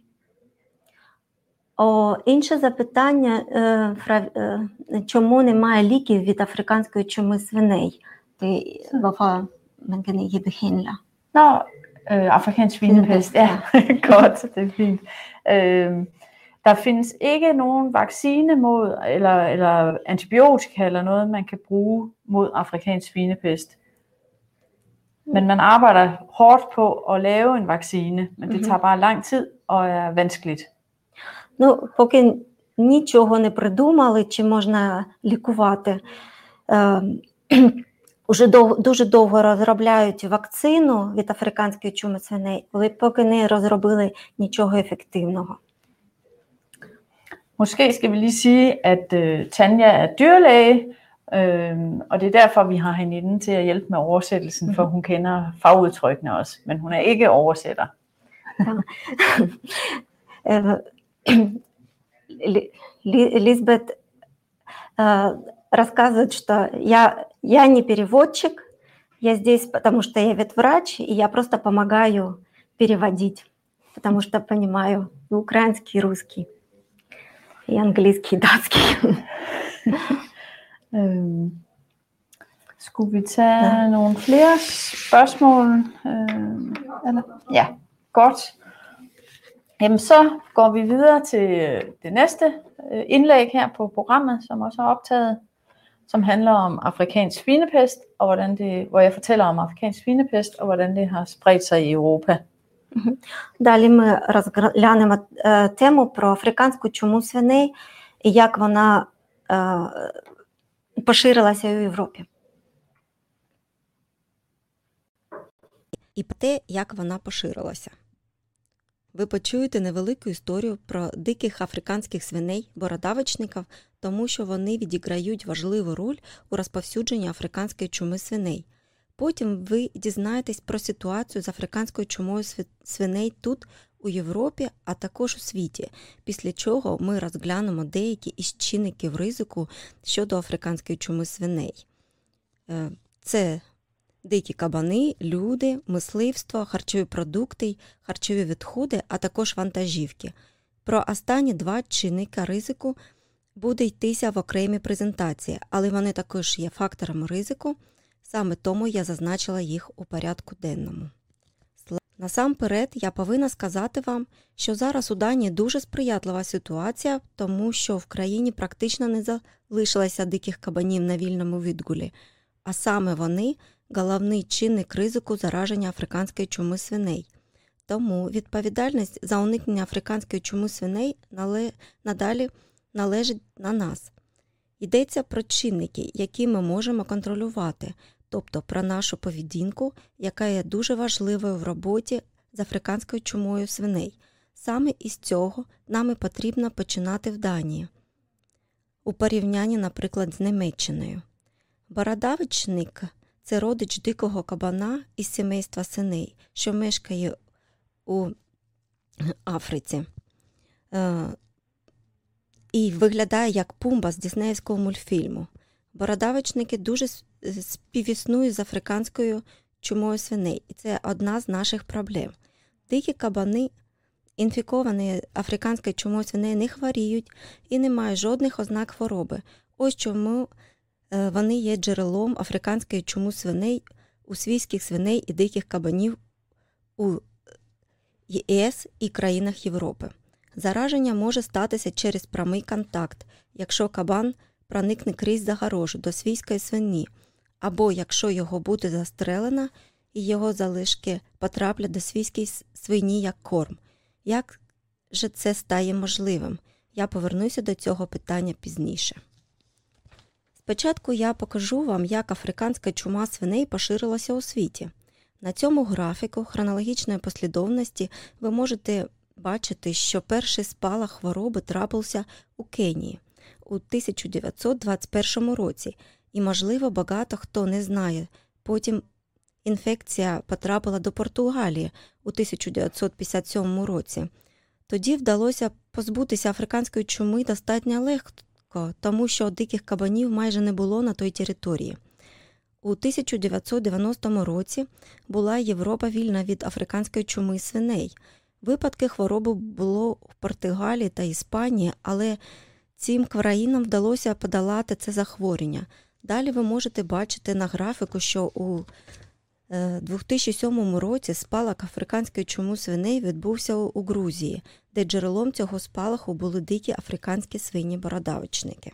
О, інше запитання, е, фра- е, чому немає ліків від африканської чуми свиней? Ти, hvorfor man kan ikke behandle? Nå, øh, afrikansk svinepest. Ja, godt, det er fint. Øh, der findes ikke nogen vaccine mod, eller, eller antibiotika eller noget, man kan bruge mod afrikansk svinepest. Men man arbejder hårdt på at lave en vaccine, men det Mhm. tager bare lang tid og er vanskeligt. Ну, поки нічого не придумали, чи можна лікувати. Е, Уже дов, дуже довго розробляють вакцину від африканської чуми свиней, але поки не розробили нічого ефективного. Måske skal vi lige sige, at øh, Tanja er dyrlæge, øh, og det er derfor, vi har hende inde til at hjælpe med oversættelsen, for hun kender fagudtrykkene også, men hun er ikke oversætter. Э, Ли- Ли- Лизбет э, рассказывает, что я, я не переводчик, я здесь, потому что я ветврач, и я просто помогаю переводить, потому что понимаю и украинский, и русский, и английский, и датский. Øh, skulle vi tage Ja. ja. nogle flere spørgsmål? Øh, eller? Ja, godt. Jamen så går vi videre til det næste øh, indlæg her på programmet, som også er optaget, som handler om afrikansk svinepest, og hvordan det, hvor jeg fortæller om afrikansk svinepest, og hvordan det har spredt sig i Europa. Далі ми розглянемо е, тему про африканську чуму свиней і як вона е, поширилася у Європі. І про те, як вона поширилася. Ви почуєте невелику історію про диких африканських свиней, бородавочників, тому що вони відіграють важливу роль у розповсюдженні африканської чуми свиней. Потім ви дізнаєтесь про ситуацію з африканською чумою свиней тут, у Європі, а також у світі, після чого ми розглянемо деякі із чинників ризику щодо африканської чуми свиней. Це дикі кабани, люди, мисливство, харчові продукти, харчові відходи, а також вантажівки. Про останні два чинника ризику буде йтися в окремій презентації, але вони також є факторами ризику, саме тому я зазначила їх у порядку денному. Насамперед, я повинна сказати вам, що зараз у Данії дуже сприятлива ситуація, тому що в країні практично не залишилося диких кабанів на вільному відгулі, а саме вони – головний чинник ризику зараження африканської чуми свиней. Тому відповідальність за уникнення африканської чуми свиней нале... надалі належить на нас. Йдеться про чинники, які ми можемо контролювати, тобто про нашу поведінку, яка є дуже важливою в роботі з африканською чумою свиней. Саме із цього нам і потрібно починати в Данії. У порівнянні, наприклад, з Німеччиною. Бородавочник – це родич дикого кабана із сімейства свиней, що мешкає у Африці. Е, і виглядає як Пумба з діснеївського мультфільму. Бородавочники дуже співіснують з африканською чумою свиней, і це одна з наших проблем. Дикі кабани, інфіковані африканською чумою свиней, не хворіють і не мають жодних ознак хвороби. Ось чому вони є джерелом африканської чуми свиней у свійських свиней і диких кабанів у ЄС і країнах Європи. Зараження може статися через прямий контакт, якщо кабан проникне крізь загорожу до свійської свині, або якщо його буде застрелено і його залишки потраплять до свійської свині як корм. Як же це стає можливим? Я повернуся до цього питання пізніше. Спочатку я покажу вам, як африканська чума свиней поширилася у світі. На цьому графіку хронологічної послідовності ви можете бачити, що перший спалах хвороби трапився у Кенії у тисяча дев'ятсот двадцять першому році, і, можливо, багато хто не знає. Потім інфекція потрапила до Португалії у тисяча дев'ятсот п'ятдесят сьомому році. Тоді вдалося позбутися африканської чуми достатньо легко, тому що диких кабанів майже не було на той території. У тисяча дев'ятсот дев'яностому році була Європа вільна від африканської чуми свиней. Випадки хвороби було в Португалії та Іспанії, але цим країнам вдалося подолати це захворювання. Далі ви можете бачити на графіку, що у дві тисячі сьомому році спалах африканської чуми свиней відбувся у Грузії, де джерелом цього спалаху були дикі африканські свині-бородавочники.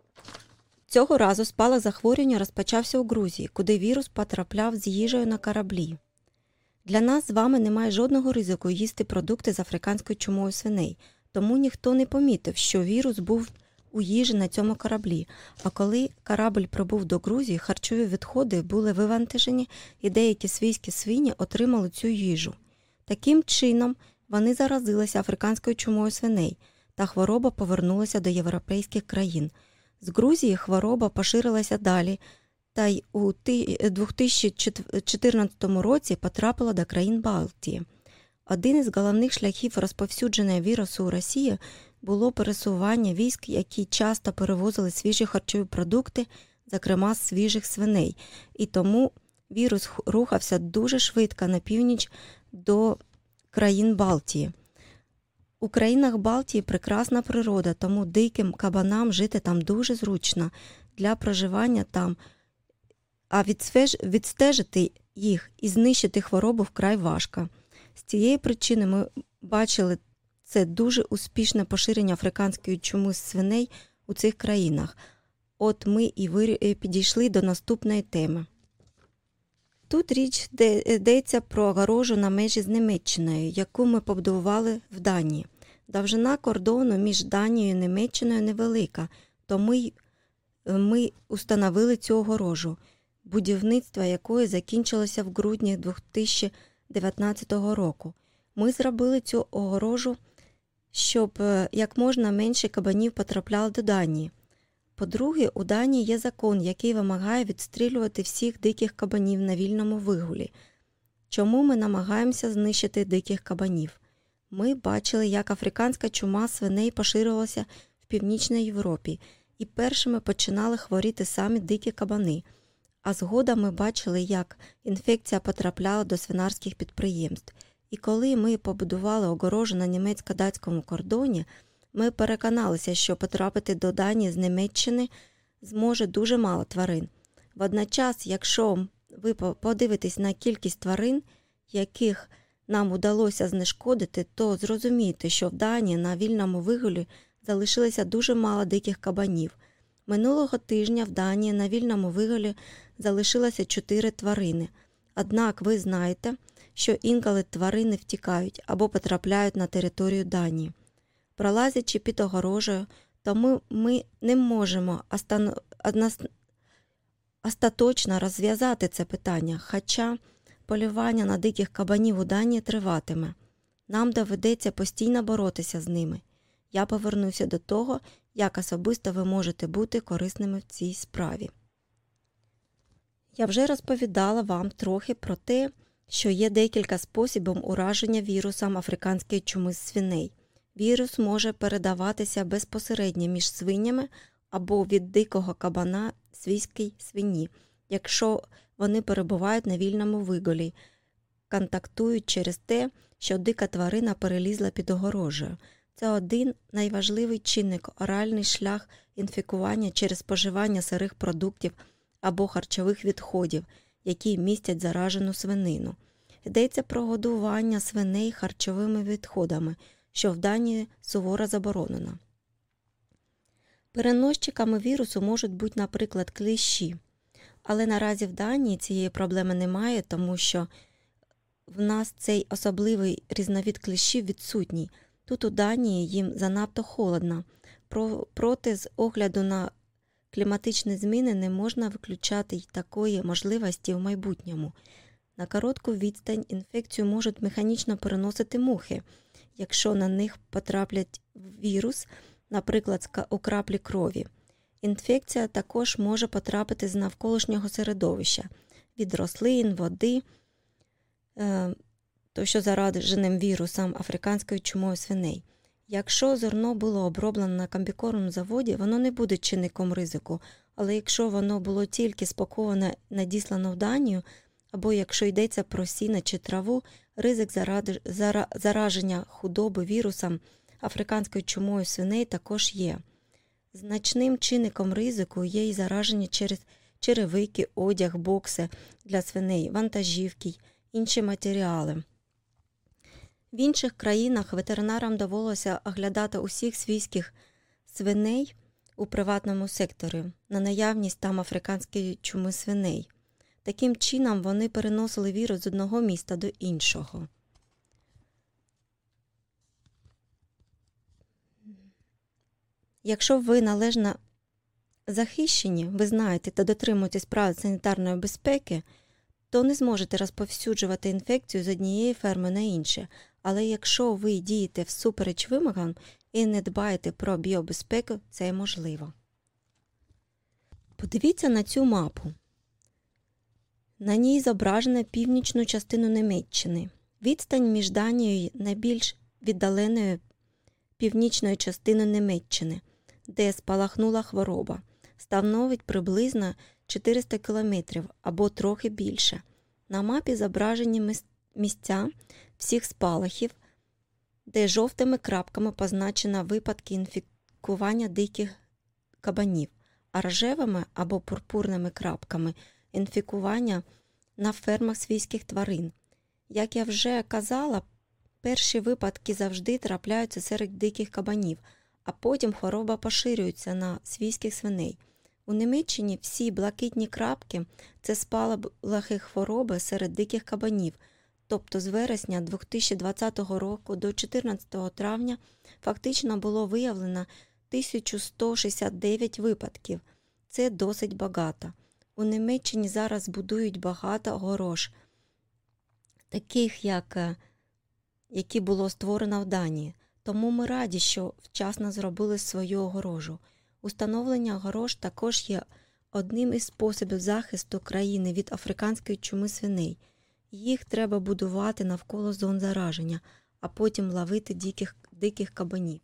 Цього разу спалах захворювання розпочався у Грузії, куди вірус потрапляв з їжею на кораблі. Для нас з вами немає жодного ризику їсти продукти з африканською чумою свиней, тому ніхто не помітив, що вірус був у їжі на цьому кораблі. А коли корабль прибув до Грузії, харчові відходи були вивантажені і деякі свійські свині отримали цю їжу. Таким чином, вони заразилися африканською чумою свиней, та хвороба повернулася до європейських країн. З Грузії хвороба поширилася далі, та й у дві тисячі чотирнадцятому році потрапила до країн Балтії. Один із головних шляхів розповсюдження вірусу у Росії було пересування військ, які часто перевозили свіжі харчові продукти, зокрема з свіжих свиней. І тому вірус рухався дуже швидко на північ до країн Балтії. У країнах Балтії прекрасна природа, тому диким кабанам жити там дуже зручно для проживання там, а відстежити їх і знищити хворобу вкрай важко. З цієї причини ми бачили це дуже успішне поширення африканської чуми свиней у цих країнах. От ми і підійшли до наступної теми. Тут річ йдеться про огорожу на межі з Німеччиною, яку ми побудували в Данії. Довжина кордону між Данією і Німеччиною невелика, тому ми установили цю огорожу, будівництво якої закінчилося в грудні дві тисячі дев'ятнадцятого року. Ми зробили цю огорожу, щоб як можна менше кабанів потрапляло до Данії. По-друге, у Данії є закон, який вимагає відстрілювати всіх диких кабанів на вільному вигулі. Чому ми намагаємося знищити диких кабанів? Ми бачили, як африканська чума свиней поширилася в Північній Європі, і першими починали хворіти самі дикі кабани. А згодом ми бачили, як інфекція потрапляла до свинарських підприємств. І коли ми побудували огорожу на німецько-датському кордоні, ми переконалися, що потрапити до Данії з Німеччини зможе дуже мало тварин. Водночас, якщо ви подивитесь на кількість тварин, яких нам удалося знешкодити, то зрозумієте, що в Данії на вільному вигулі залишилося дуже мало диких кабанів. Минулого тижня в Данії на вільному вигулі залишилося чотири тварини, Однак ви знаєте, що інколи тварини втікають або потрапляють на територію Данії. Пролазячи під огорожею, тому ми не можемо остан- однос... остаточно розв'язати це питання, хоча полювання на диких кабанів у Данії триватиме. Нам доведеться постійно боротися з ними. Я повернуся до того, як особисто ви можете бути корисними в цій справі. Я вже розповідала вам трохи про те, що є декілька способів ураження вірусом африканської чуми з свиней. Вірус може передаватися безпосередньо між свинями або від дикого кабана свійській свині, якщо вони перебувають на вільному вигулі, контактують через те, що дика тварина перелізла під огорожею. Це один найважливий чинник – оральний шлях інфікування через споживання сирих продуктів або харчових відходів, які містять заражену свинину. Йдеться про годування свиней харчовими відходами, що в Данії суворо заборонено. Переносчиками вірусу можуть бути, наприклад, кліщі. Але наразі в Данії цієї проблеми немає, тому що в нас цей особливий різновид кліщів відсутній. Тут у Данії їм занадто холодно. Про, проте з огляду на кліматичні зміни не можна виключати й такої можливості в майбутньому. На коротку відстань інфекцію можуть механічно переносити мухи, якщо на них потраплять вірус, наприклад, у краплі крові. Інфекція також може потрапити з навколишнього середовища, від рослин, води, то що зараженим вірусом африканської чумою свиней. Якщо зерно було оброблено на комбікормному заводі, воно не буде чинником ризику, але якщо воно було тільки спаковане, надіслано в Данію, або якщо йдеться про сіно чи траву, ризик зараження худоби вірусом африканською чумою свиней також є. Значним чинником ризику є й зараження через черевики, одяг, бокси для свиней, вантажівки, інші матеріали. В інших країнах ветеринарам довелося оглядати усіх свійських свиней у приватному секторі на наявність там африканської чуми свиней. Таким чином вони переносили вірус з одного міста до іншого. Якщо ви належно захищені, ви знаєте та дотримуєтесь правил санітарної безпеки, то не зможете розповсюджувати інфекцію з однієї ферми на інше. Але якщо ви дієте всупереч вимогам і не дбаєте про біобезпеку, це можливо. Подивіться на цю мапу. На ній зображено північну частину Німеччини. Відстань між Данією і найбільш віддаленою північною частиною Німеччини, де спалахнула хвороба, становить приблизно чотириста кілометрів або трохи більше. На мапі зображені місця всіх спалахів, де жовтими крапками позначено випадки інфікування диких кабанів, а рожевими або пурпурними крапками – інфікування на фермах свійських тварин. Як я вже казала, перші випадки завжди трапляються серед диких кабанів, а потім хвороба поширюється на свійських свиней. У Німеччині всі блакитні крапки – це спалахи хвороби серед диких кабанів, тобто з вересня дві тисячі двадцятого року до чотирнадцятого травня фактично було виявлено тисяча сто шістдесят дев'ять випадків. Це досить багато. У Німеччині зараз будують багато огорож, таких, як, які було створено в Данії. Тому ми раді, що вчасно зробили свою огорожу. Установлення огорож також є одним із способів захисту країни від африканської чуми свиней. Їх треба будувати навколо зон зараження, а потім ловити диких, диких кабанів.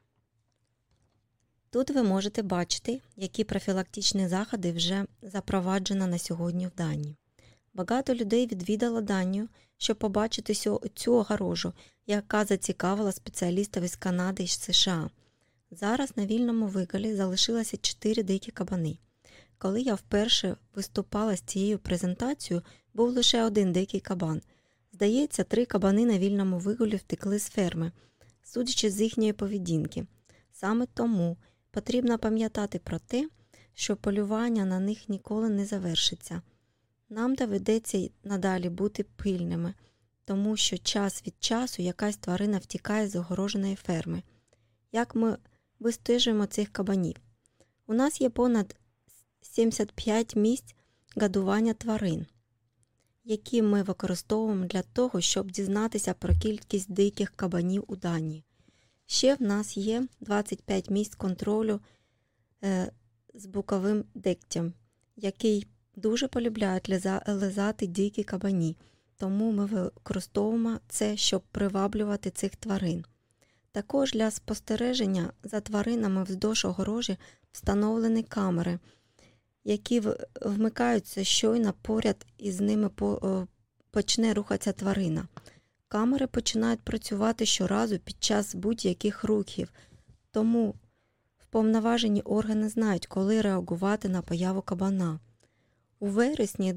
Тут ви можете бачити, які профілактичні заходи вже запроваджено на сьогодні в Данії. Багато людей відвідало Данію, щоб побачити цю огорожу, яка зацікавила спеціалістів із Канади і США. Зараз на вільному вигулі залишилося чотири дикі кабани. Коли я вперше виступала з цією презентацією, був лише один дикий кабан. Здається, три кабани на вільному вигулі втекли з ферми, судячи з їхньої поведінки. Саме тому потрібно пам'ятати про те, що полювання на них ніколи не завершиться. Нам доведеться й надалі бути пильними, тому що час від часу якась тварина втікає з огороженої ферми. Як ми вистежуємо цих кабанів? У нас є понад сімдесят п'ять місць годування тварин, які ми використовуємо для того, щоб дізнатися про кількість диких кабанів у Данії. Ще в нас є двадцять п'ять місць контролю е, з боковим дегтям, який дуже полюбляють лизати дикі кабані, тому ми використовуємо це, щоб приваблювати цих тварин. Також для спостереження за тваринами вздовж огорожі встановлені камери, які вмикаються щойно поряд із ними почне рухатися тварина. Камери починають працювати щоразу під час будь-яких рухів, тому вповноважені органи знають, коли реагувати на появу кабана. У вересні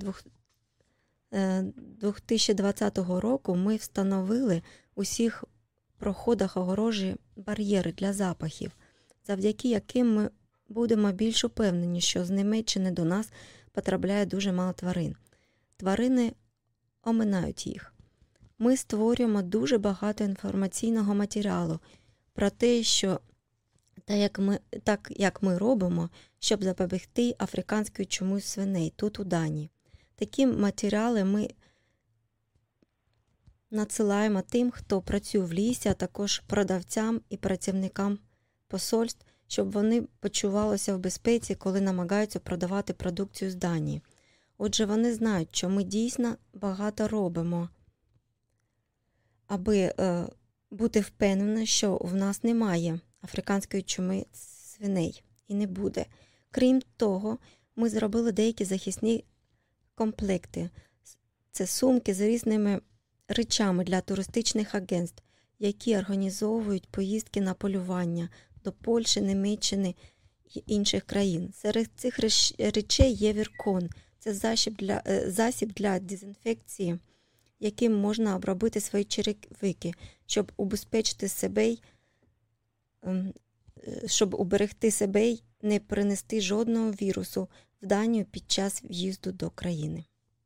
дві тисячі двадцятого року ми встановили у всіх проходах огорожі бар'єри для запахів, завдяки яким ми будемо більш упевнені, що з Німеччини до нас потрапляє дуже мало тварин. Тварини оминають їх. Ми створюємо дуже багато інформаційного матеріалу про те, що та як ми, так як ми робимо, щоб запобігти африканської чумі свиней тут у Данії. Такі матеріали ми надсилаємо тим, хто працює в лісі, а також продавцям і працівникам посольств, щоб вони почувалися в безпеці, коли намагаються продавати продукцію з Данії. Отже, вони знають, що ми дійсно багато робимо, аби е, бути впевнені, що в нас немає африканської чуми свиней і не буде. Крім того, ми зробили деякі захисні комплекти. Це сумки з різними речами для туристичних агентств, які організовують поїздки на полювання до Польщі, Німеччини і інших країн. Серед цих речей є віркон. Це засіб для, засіб для дезінфекції, яким можна обробити свої черевики, щоб убезпечити себе, щоб уберегти себе й не принести жодного вірусу в Данію під час в'їзду до країни.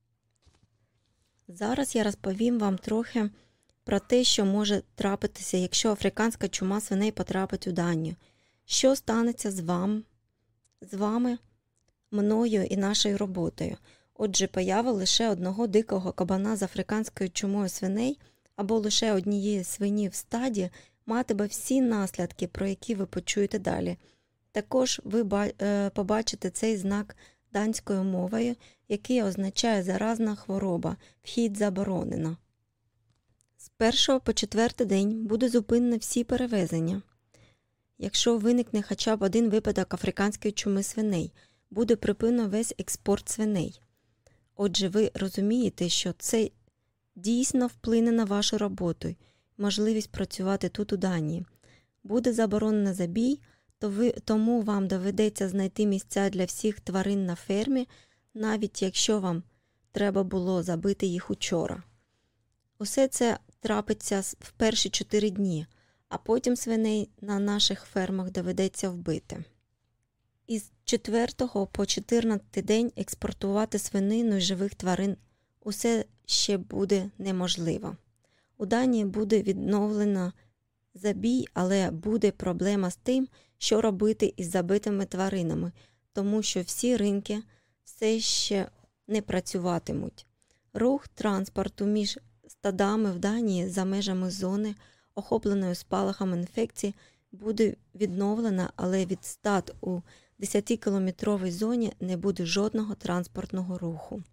Зараз я розповім вам трохи про те, що може трапитися, якщо африканська чума свиней потрапить у Данію. Що станеться з вами, з вами, мною і нашою роботою? Отже, поява лише одного дикого кабана з африканською чумою свиней або лише однієї свині в стаді матиме всі наслідки, про які ви почуєте далі. Також ви побачите цей знак данською мовою, який означає «заразна хвороба», «вхід заборонено». З першого по четвертий день буде зупинено всі перевезення. Якщо виникне хоча б один випадок африканської чуми свиней, буде припинено весь експорт свиней. Отже, ви розумієте, що це дійсно вплине на вашу роботу і можливість працювати тут у Данії. Буде заборонено забій, то ви, тому вам доведеться знайти місця для всіх тварин на фермі, навіть якщо вам треба було забити їх учора. Усе це трапиться в перші чотири дні, а потім свиней на наших фермах доведеться вбити. Із четвертого по чотирнадцятий день експортувати свинину і живих тварин усе ще буде неможливо. У Данії буде відновлено забій, але буде проблема з тим, що робити із забитими тваринами, тому що всі ринки все ще не працюватимуть. Рух транспорту між стадами в Данії за межами зони, охопленої спалахом інфекції, буде відновлено, але від стад у десятикілометровій зоні не буде жодного транспортного руху.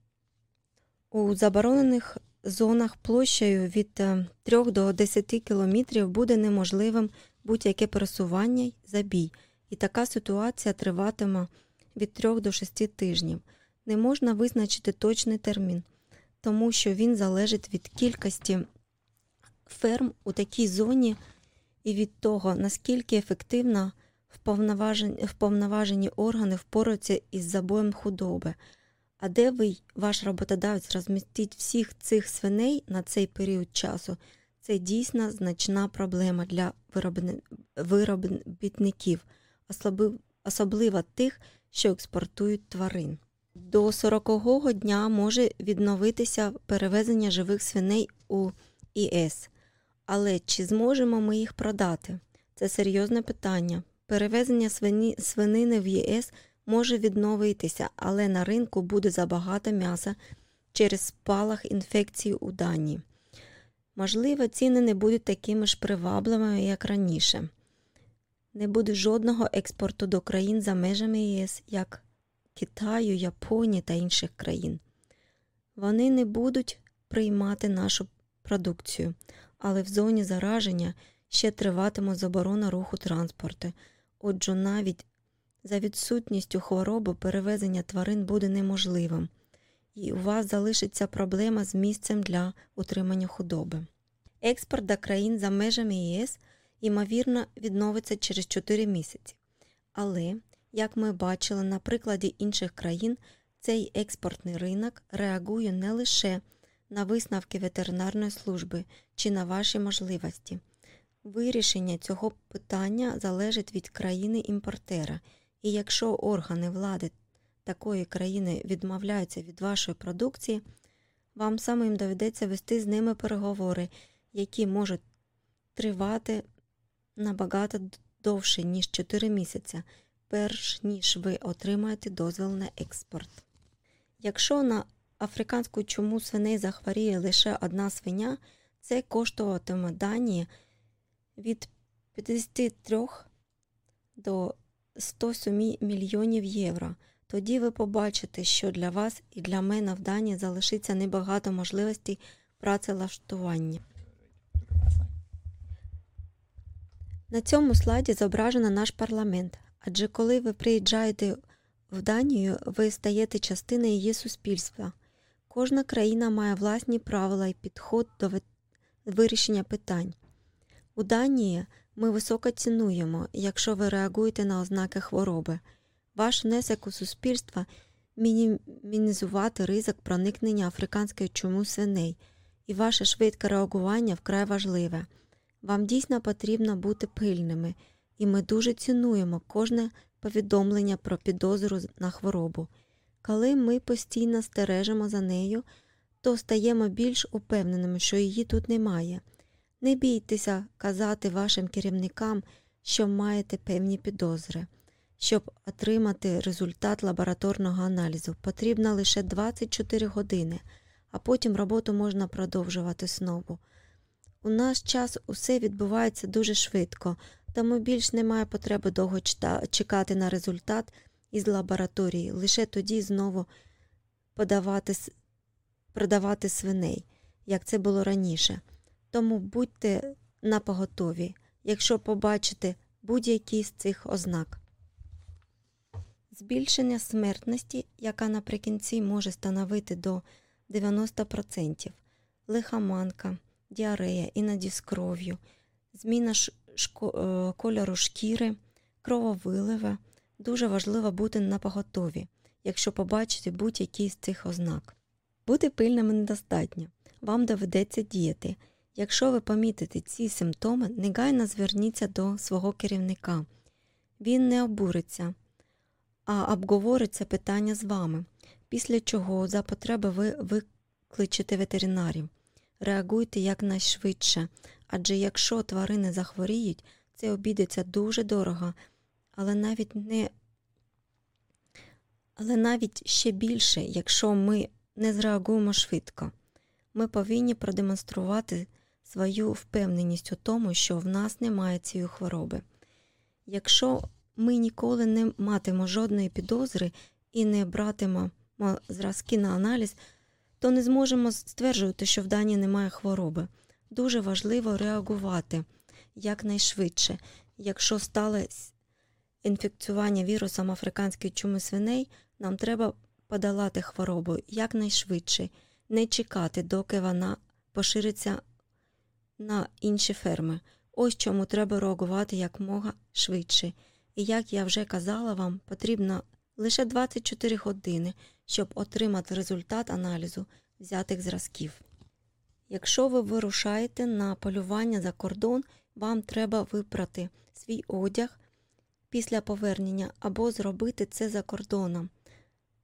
У заборонених зонах площею від трьох до десяти кілометрів буде неможливим будь-яке пересування й забій, і така ситуація триватиме від трьох до шести тижнів. Не можна визначити точний термін, тому що він залежить від кількості ферм у такій зоні і від того, наскільки ефективно вповноважені, вповноважені органи впораються із забоєм худоби. А де ви, ваш роботодавець, розмістить всіх цих свиней на цей період часу, це дійсно значна проблема для виробників, особливо тих, що експортують тварин. До сорокового дня може відновитися перевезення живих свиней у ЄС. Але чи зможемо ми їх продати? Це серйозне питання. Перевезення свині, свинини в ЄС може відновитися, але на ринку буде забагато м'яса через спалах інфекції у Данії. Можливо, ціни не будуть такими ж привабливими, як раніше. Не буде жодного експорту до країн за межами ЄС, як Китаю, Японії та інших країн. Вони не будуть приймати нашу продукцію, але в зоні зараження ще триватиме заборона руху транспорту. Отже, навіть за відсутністю хвороби перевезення тварин буде неможливим. І у вас залишиться проблема з місцем для утримання худоби. Експорт до країн за межами ЄС, ймовірно, відновиться через чотири місяці. Але, як ми бачили на прикладі інших країн, цей експортний ринок реагує не лише на висновки ветеринарної служби чи на ваші можливості. Вирішення цього питання залежить від країни-імпортера, і якщо органи влади такої країни відмовляються від вашої продукції, вам самим доведеться вести з ними переговори, які можуть тривати набагато довше, ніж чотири місяці, перш ніж ви отримаєте дозвіл на експорт. Якщо на африканську чуму свиней захворіє лише одна свиня, це коштуватиме Данії від п'ятдесят три до сто сім мільйонів євро. Тоді ви побачите, що для вас і для мене в Данії залишиться небагато можливостей працевлаштування. На цьому слайді зображено наш парламент, адже коли ви приїжджаєте в Данію, ви стаєте частиною її суспільства. Кожна країна має власні правила і підход до вирішення питань. У Данії ми високо цінуємо, якщо ви реагуєте на ознаки хвороби. Ваш внесок у суспільство – мінімізувати ризик проникнення африканської чуми свиней, і ваше швидке реагування вкрай важливе. Вам дійсно потрібно бути пильними, і ми дуже цінуємо кожне повідомлення про підозру на хворобу. Коли ми постійно стережемо за нею, то стаємо більш упевненими, що її тут немає. Не бійтеся казати вашим керівникам, що маєте певні підозри. Щоб отримати результат лабораторного аналізу, потрібно лише двадцять чотири години, а потім роботу можна продовжувати знову. У наш час усе відбувається дуже швидко, тому більш немає потреби довго чекати на результат із лабораторії, лише тоді знову подавати, продавати свиней, як це було раніше. Тому будьте напоготові, якщо побачите будь-які з цих ознак. Збільшення смертності, яка наприкінці може становити до дев'яносто відсотків, лихоманка, діарея, іноді з кров'ю, зміна шко- кольору шкіри, крововилива. Дуже важливо бути напоготові, якщо побачите будь-які з цих ознак. Бути пильними недостатньо. Вам доведеться діяти. Якщо ви помітите ці симптоми, негайно зверніться до свого керівника. Він не обуриться, а обговорить це питання з вами, після чого за потреби ви викличете ветеринарів. Реагуйте якнайшвидше, адже якщо тварини захворіють, це обійдеться дуже дорого, але навіть не але навіть ще більше, якщо ми не зреагуємо швидко. Ми повинні продемонструвати свою впевненість у тому, що в нас немає цієї хвороби. Якщо ми ніколи не матимемо жодної підозри і не братимемо зразки на аналіз, то не зможемо стверджувати, що в Данії немає хвороби. Дуже важливо реагувати якнайшвидше. Якщо сталося інфекціювання вірусом африканської чуми свиней, нам треба подолати хворобу якнайшвидше, не чекати, доки вона пошириться на інші ферми. Ось чому треба реагувати якомога швидше. І як я вже казала вам, потрібно лише двадцять чотири години, щоб отримати результат аналізу взятих зразків. Якщо ви вирушаєте на полювання за кордон, вам треба випрати свій одяг після повернення або зробити це за кордоном.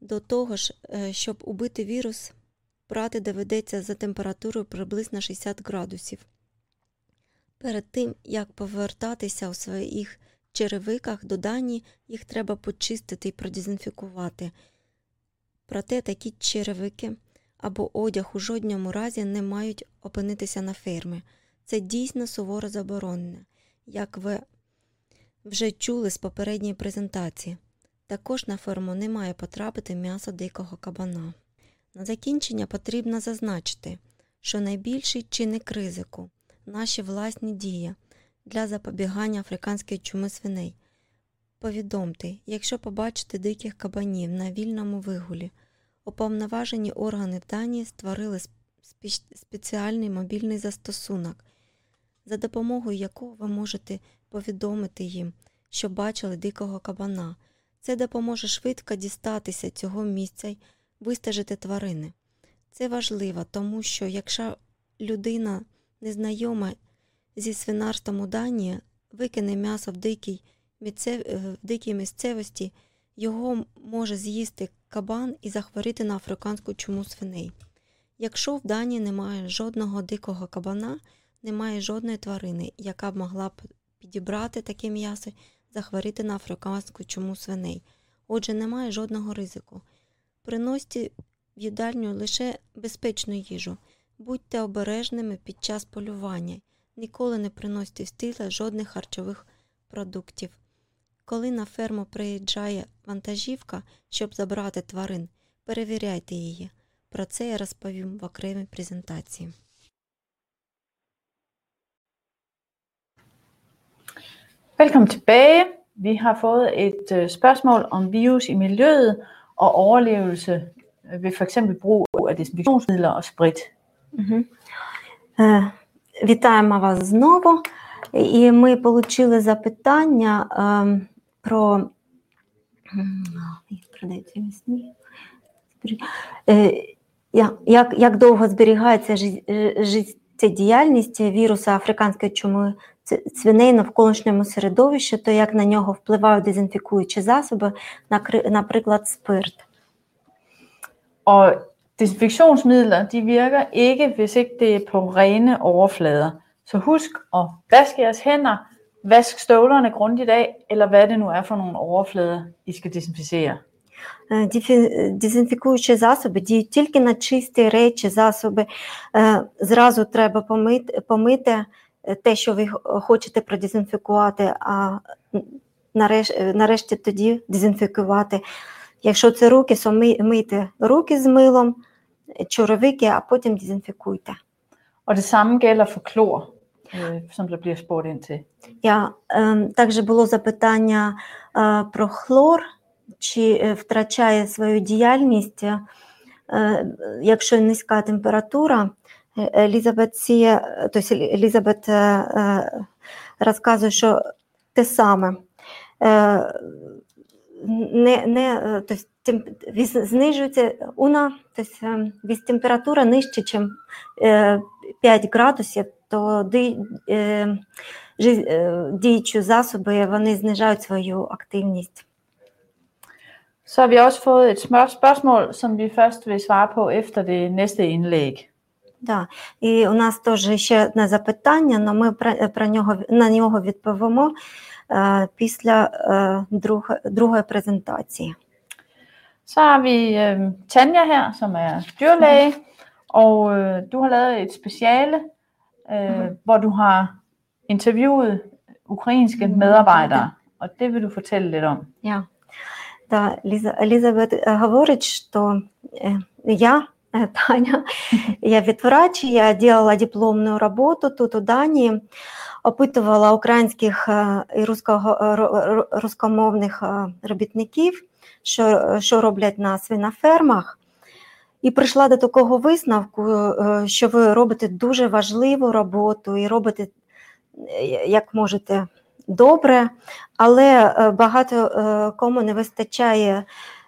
До того ж, щоб убити вірус, прати доведеться за температурою приблизно шістдесят градусів. Перед тим, як повертатися у своїх черевиках до Данії, їх треба почистити і продезінфікувати. Проте такі черевики або одяг у жодному разі не мають опинитися на фермі. Це дійсно суворо заборонено, як ви вже чули з попередньої презентації. Також на ферму не має потрапити м'ясо дикого кабана. На закінчення потрібно зазначити, що найбільший чинник ризику – наші власні дії для запобігання африканської чуми свиней. Повідомте, якщо побачите диких кабанів на вільному вигулі, уповноважені органи в Данії створили спеціальний мобільний застосунок, за допомогою якого ви можете повідомити їм, що бачили дикого кабана. Це допоможе швидко дістатися цього місця й вистежити тварини. Це важливо, тому що якщо людина незнайома зі свинарством у Данії викине м'ясо в дикій, в дикій місцевості, його може з'їсти кабан і захворіти на африканську чуму свиней. Якщо в Данії немає жодного дикого кабана, немає жодної тварини, яка б могла б підібрати таке м'ясо і захворіти на африканську чуму свиней. Отже, немає жодного ризику. Приносьте в їдальню лише безпечну їжу. Будьте обережними під час полювання. Ніколи не приносьте в стіл жодних харчових продуктів. Коли на ферму приїжджає вантажівка, щоб забрати тварин, перевіряйте її. Про це я розповім в окремій презентації. Velkommen tilbage. Vi har fået et øh, spørgsmål om virus i miljøet og overlevelse ved for eksempel brug af desinfektionsmidler og sprit. Угу. Е, вітаємо вас знову. І ми отримали запитання е, про, е, як, як довго зберігається життєдіяльність віруса африканської чуми свиней на навколишньому середовищі, то як на нього впливають дезінфікуючі засоби, наприклад, спирт. Og desinfektionsmidler, de virker ikke, hvis ikke det er på rene overflader. Så husk at vaske jeres hænder, vask støvlerne grundigt af, eller hvad det nu er for nogle overflader, I skal desinficere. Дезінфікуючі засоби діють тільки на чисті речі, засоби. Зразу треба помити, помити те, що ви хочете продезінфікувати, а нарешті, нарешті тоді дезінфікувати. Якщо це руки, то мийте руки з милом, черевики, а потім дезінфікуйте. Og det samme gælder for klor, øh, som der bliver spurgt ind til. Ja, е, також було запитання е, про хлор, чи втрачає свою діяльність, е, якщо низька температура. Елізабет, сіє, тобто Елізабет е, е, розказує, що те саме. Е, не, не, тобто, тем, знижується вона, тобто, від температура нижче, ніж е, п'ять градусів, то ди, е, діючі засоби вони знижають свою активність. Så har vi også fået et spørgsmål, som vi først vil svare på efter det næste indlæg. Да. І у нас теж ще одне запитання, але ми про нього, на нього відповімо е, після е, друг, другої презентації. Så har vi øh, Tanja her, som er dyrlæge, og øh, du har lavet et speciale, øh, mm-hmm. hvor du har interviewet ukrainske medarbejdere, og det vil du fortælle lidt om. Ja. Да, Елізабет говорить, що я, Таня, я ветврач, я делала дипломную работу тут у Дании, опитувала українських і рускомовних робітників, що, що роблять на свинофермах, і прийшла до такого висновку, що ви робите дуже важливу роботу і робите, як можете, добре, але багато кому не вистачає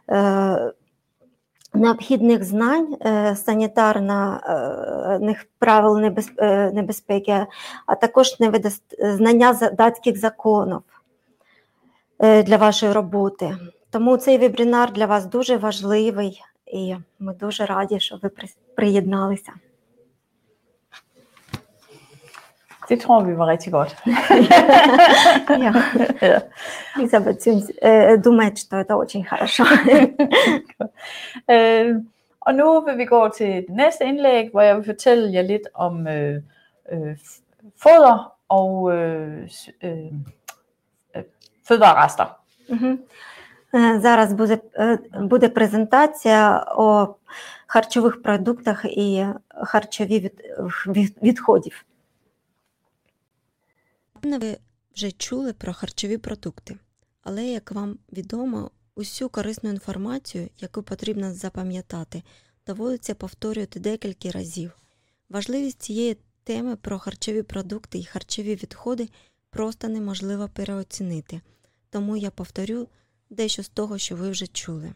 необхідних знань, санітарних правил небезпеки, а також знання датських законів для вашої роботи. Тому цей вебінар для вас дуже важливий, і ми дуже раді, що ви при- приєдналися. Det tror vi var rigtig godt. Ja. Ja. Elisabeth synes, øh, думает, что это очень хорошо. Øh, og nu vil vi gå til det næste indlæg, hvor jeg vil fortælle jer lidt om øh, øh, foder og øh, s- øh, øh, fødevarerester. Мгм. Е, Зараз буде, е, буде презентація о харчових продуктах і харчові від, від- відходів. Напевно, ви вже чули про харчові продукти, але, як вам відомо, усю корисну інформацію, яку потрібно запам'ятати, доводиться повторювати декілька разів. Важливість цієї теми про харчові продукти і харчові відходи просто неможливо переоцінити, тому я повторю дещо з того, що ви вже чули.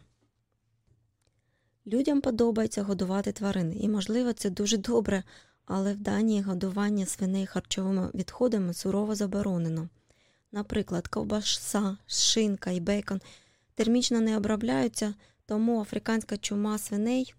Людям подобається годувати тварин, і, можливо, це дуже добре, але в Данії годування свиней харчовими відходами сурово заборонено. Наприклад, ковбаса, шинка і бейкон термічно не обробляються, тому африканська чума свиней,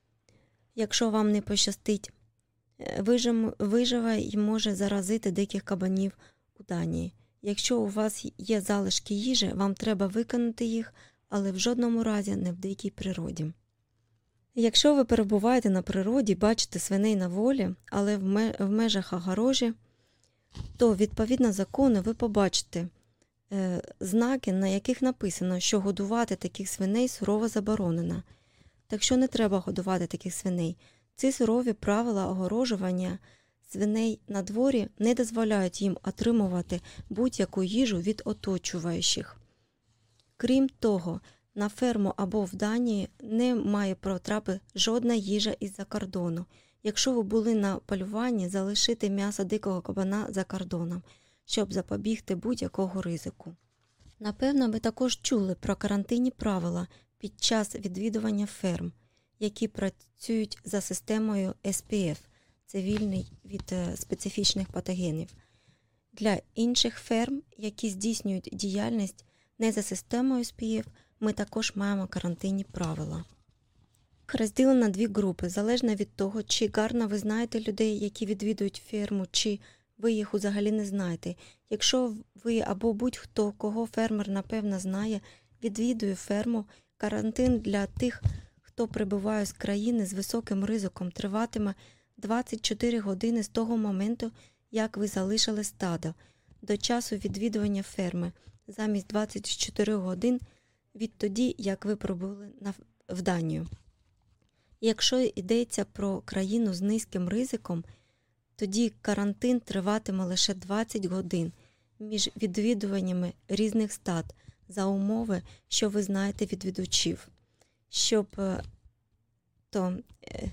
якщо вам не пощастить, вижим- виживе і може заразити диких кабанів у Данії. Якщо у вас є залишки їжі, вам треба викинути їх, але в жодному разі не в дикій природі. Якщо ви перебуваєте на природі, бачите свиней на волі, але в ме- в межах огорожі, то відповідно закону ви побачите е, знаки, на яких написано, що годувати таких свиней сурово заборонено. Так що не треба годувати таких свиней. Ці сурові правила огорожування свиней на дворі не дозволяють їм отримувати будь-яку їжу від оточуючих. Крім того, на ферму або в Данії не має потрапити жодна їжа із-за кордону. Якщо ви були на полюванні, залишити м'ясо дикого кабана за кордоном, щоб запобігти будь-якого ризику. Напевно, ви також чули про карантинні правила під час відвідування ферм, які працюють за системою ес пі еф – це вільний від е, специфічних патогенів. Для інших ферм, які здійснюють діяльність не за системою ес пі еф, ми також маємо карантинні правила. Розділено на дві групи, залежно від того, чи гарно ви знаєте людей, які відвідують ферму, чи ви їх взагалі не знаєте. Якщо ви або будь-хто, кого фермер напевно знає, відвідує ферму, карантин для тих, хто прибуває з країни з високим ризиком, триватиме двадцять чотири години з того моменту, як ви залишили стадо, до часу відвідування ферми, замість двадцять чотири годин відтоді, як ви прибули на, в Данію. Якщо йдеться про країну з низьким ризиком, тоді карантин триватиме лише двадцять годин між відвідуваннями різних стад за умови, що ви знаєте відвідувачів. Щоб е, то, е,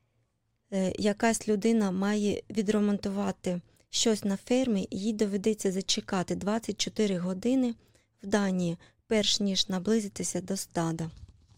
е, якась людина має відремонтувати щось на фермі, їй доведеться зачекати двадцять чотири години в Данії, перш ніж наблизитися до стада.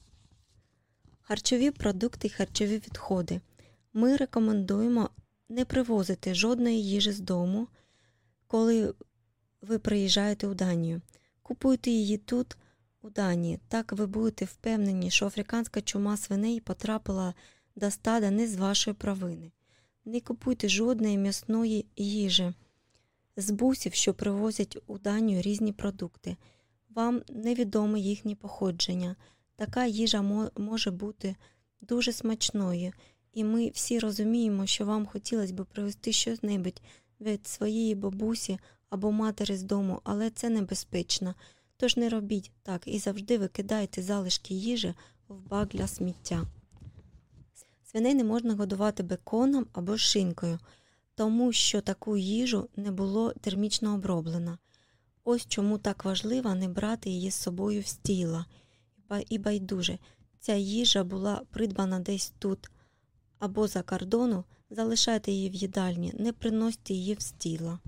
Харчові продукти і харчові відходи. Ми рекомендуємо не привозити жодної їжі з дому, коли ви приїжджаєте у Данію. Купуйте її тут, у Данії. Так ви будете впевнені, що африканська чума свиней потрапила до стада не з вашої провини. Не купуйте жодної м'ясної їжі з бусів, що привозять у Данію різні продукти. Вам невідоме їхнє походження. Така їжа може бути дуже смачною, і ми всі розуміємо, що вам хотілося б привезти щось від своєї бабусі або матері з дому, але це небезпечно. Тож не робіть так і завжди викидайте залишки їжі в бак для сміття. Свиней не можна годувати беконом або шинкою, тому що таку їжу не було термічно оброблено. Ось чому так важливо не брати її з собою в стіла. І байдуже, ця їжа була придбана десь тут або за кордону, залишайте її в їдальні, не приносьте її в стіла.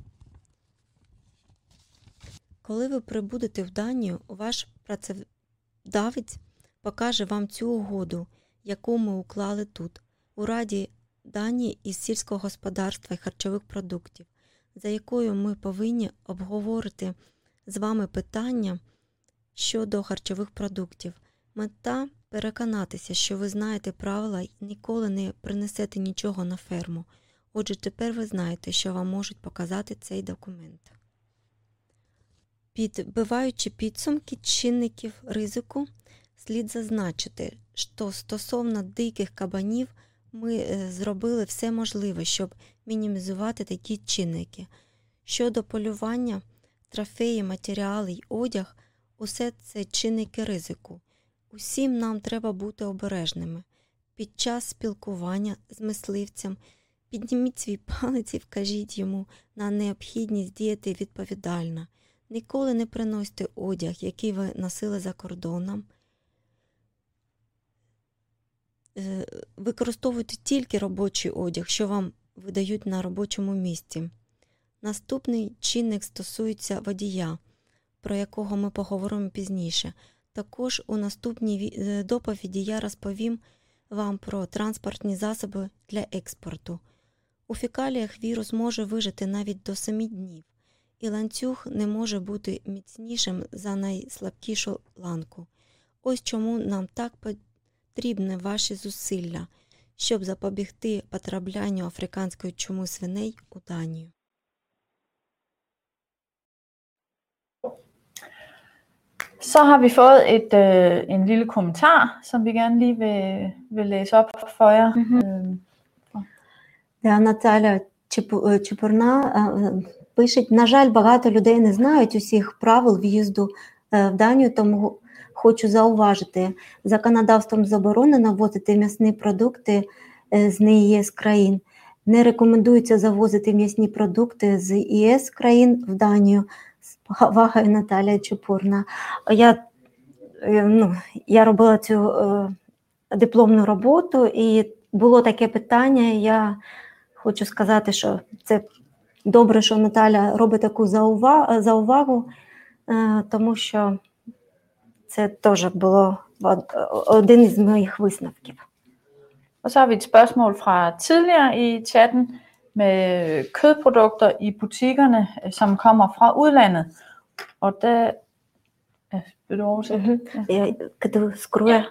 Коли ви прибудете в Данію, ваш працедавець покаже вам цю угоду, яку ми уклали тут, у Раді Данії із сільського господарства і харчових продуктів, за якою ми повинні обговорити з вами питання щодо харчових продуктів. Мета – переконатися, що ви знаєте правила і ніколи не принесете нічого на ферму. Отже, тепер ви знаєте, що вам можуть показати цей документ. Підбиваючи підсумки чинників ризику, слід зазначити, що стосовно диких кабанів ми зробили все можливе, щоб мінімізувати такі чинники. Щодо полювання, трофеї, матеріали й одяг – усе це чинники ризику. Усім нам треба бути обережними. Під час спілкування з мисливцем підніміть свій палець і вкажіть йому на необхідність діяти відповідально. Ніколи не приносьте одяг, який ви носили за кордоном. Використовуйте тільки робочий одяг, що вам видають на робочому місці. Наступний чинник стосується водія, про якого ми поговоримо пізніше. Також у наступній доповіді я розповім вам про транспортні засоби для експорту. У фекаліях вірус може вижити навіть до семи днів, і ланцюг не може бути міцнішим за найслабкішу ланку. Ось чому нам так потрібні ваші зусилля, щоб запобігти потраплянню африканської чуми свиней у Данію. Så har vi fået et, øh, en lille kommentar, som vi gerne lige vil, vil læse op for jer. Мгм. Наталя Чепурна пише, на жаль, багато людей не знають усіх правил в'їзду в Данію, тому хочу зауважити, законодавством заборонено ввозити м'ясні продукти з не ЄС країн. Не рекомендується завозити м'ясні продукти з ЄС країн в Данію. З повагою, Наталія Чепурна. Я, ну, я робила цю е, дипломну роботу, і було таке питання. Я хочу сказати, що це добре, що Наталя робить таку заувагу, заувагу е, тому що це теж було один із моїх висновків. Og så har vi et spørgsmål fra tidligere i chatten med kødprodukter i butikkerne, som kommer fra udlandet. Og der... Ja, vil du oversætte? Я кидаю скрою.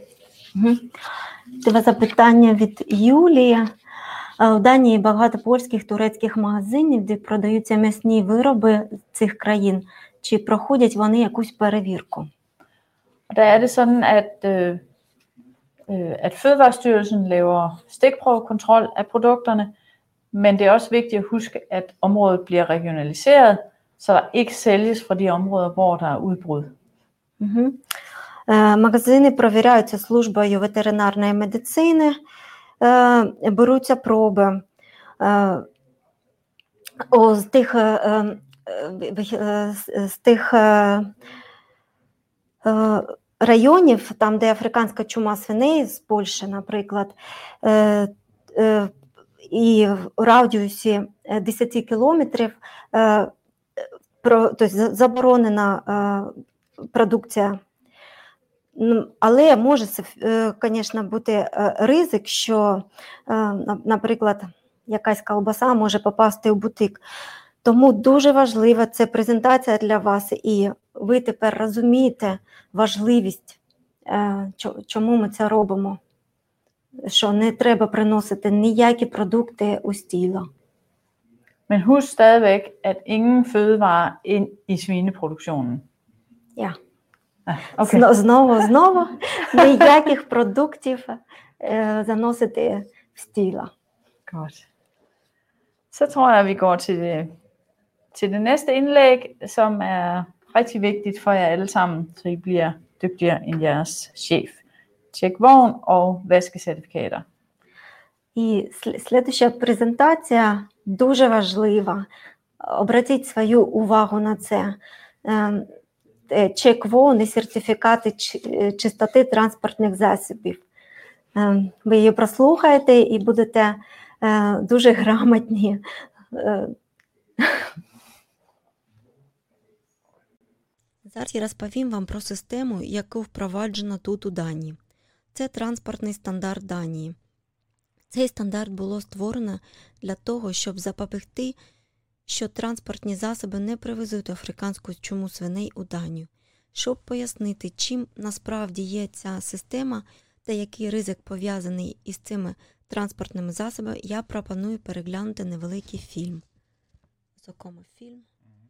Це запитання від Юлії. У Данії багато польських, турецьких магазинів, де продаються м'ясні вироби цих країн. Чи проходять вони якусь перевірку? Og der er det sådan, at, øh, at Fødevarestyrelsen laver stikprøvekontrol af produkterne, men det er også vigtigt at huske, at området bliver regionaliseret, så der ikke sælges fra de områder, hvor der er udbrud. Угу. Магазини провіряються службою ветеринарної медицини, беруться проби. З тих, з тих районів, там, де африканська чума свиней, з Польщі, наприклад, і в радіусі десять кілометрів тобто, заборонена продукція. Але може, звісно, бути ризик, що, наприклад, якась ковбаса може попасти в бутик. Тому дуже важлива це презентація для вас, і ви тепер розумієте важливість, чому ми це робимо. Що не треба приносити ніякі продукти у стіло. Men husk stadigvæk, at ingen fødevarer ind i svineproduktionen. Ja. Ah, okay. Знову, знову, ніяких продуктів е, заносити в стіло. Godt. Så tror jeg, at vi går til det, til det næste indlæg, som er rigtig vigtigt for jer alle sammen, så I bliver dygtigere end jeres chef. Tjek vogn og vaskecertifikater. І слідуща презентація дуже важлива. Обратіть свою увагу на це. Чек вогн і сертифікати чистоти транспортних засобів. Ви її прослухаєте і будете дуже грамотні. Зараз я розповім вам про систему, яку впроваджено тут у Данії. Це транспортний стандарт Данії. Цей стандарт було створено для того, щоб запобігти, що транспортні засоби не привезуть африканську чуму свиней у Данію. Щоб пояснити, чим насправді є ця система та який ризик пов'язаний із цими транспортними засобами, я пропоную переглянути невеликий фільм. Знакомий фільм.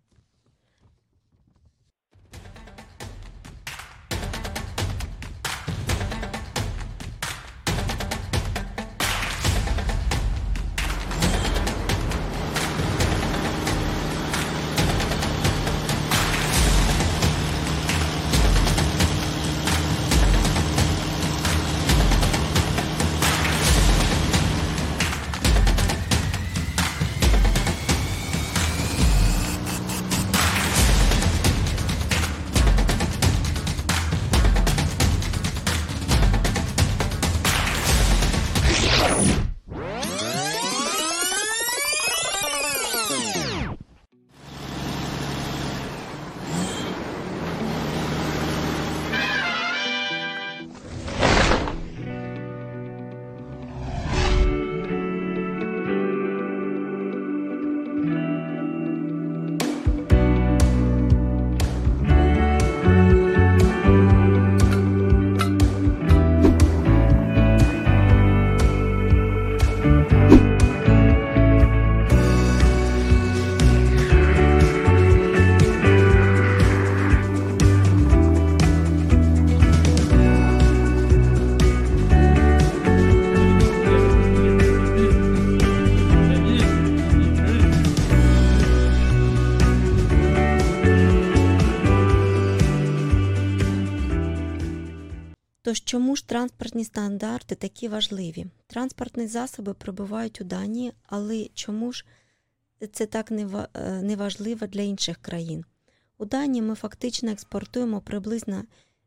Тож чому ж транспортні стандарти такі важливі? Транспортні засоби прибувають у Данії, але чому ж це так не важливо для інших країн? У Данії ми фактично експортуємо приблизно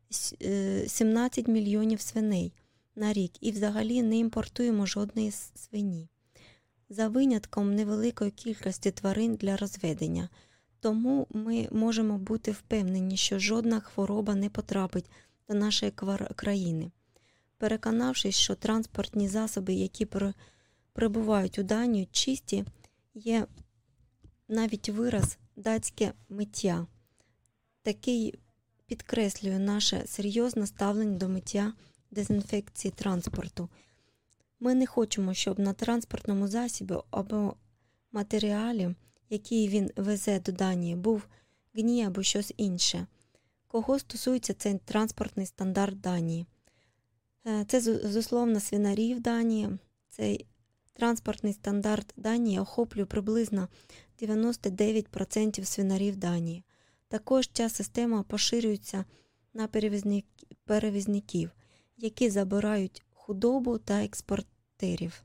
сімнадцять мільйонів свиней на рік і взагалі не імпортуємо жодної свині. За винятком невеликої кількості тварин для розведення. Тому ми можемо бути впевнені, що жодна хвороба не потрапить до нашої країни. Переконавшись, що транспортні засоби, які прибувають у Данію, чисті, є навіть вираз «датське миття». Такий підкреслює наше серйозне ставлення до миття дезінфекції транспорту. Ми не хочемо, щоб на транспортному засобі або матеріалі, який він везе до Данії, був гній або щось інше. Кого стосується цей транспортний стандарт Данії? Це, зусловно, свинарів Данії. Цей транспортний стандарт Данії охоплює приблизно дев'яносто дев'ять відсотків свинарів Данії. Також ця система поширюється на перевізників, які забирають худобу та експортерів.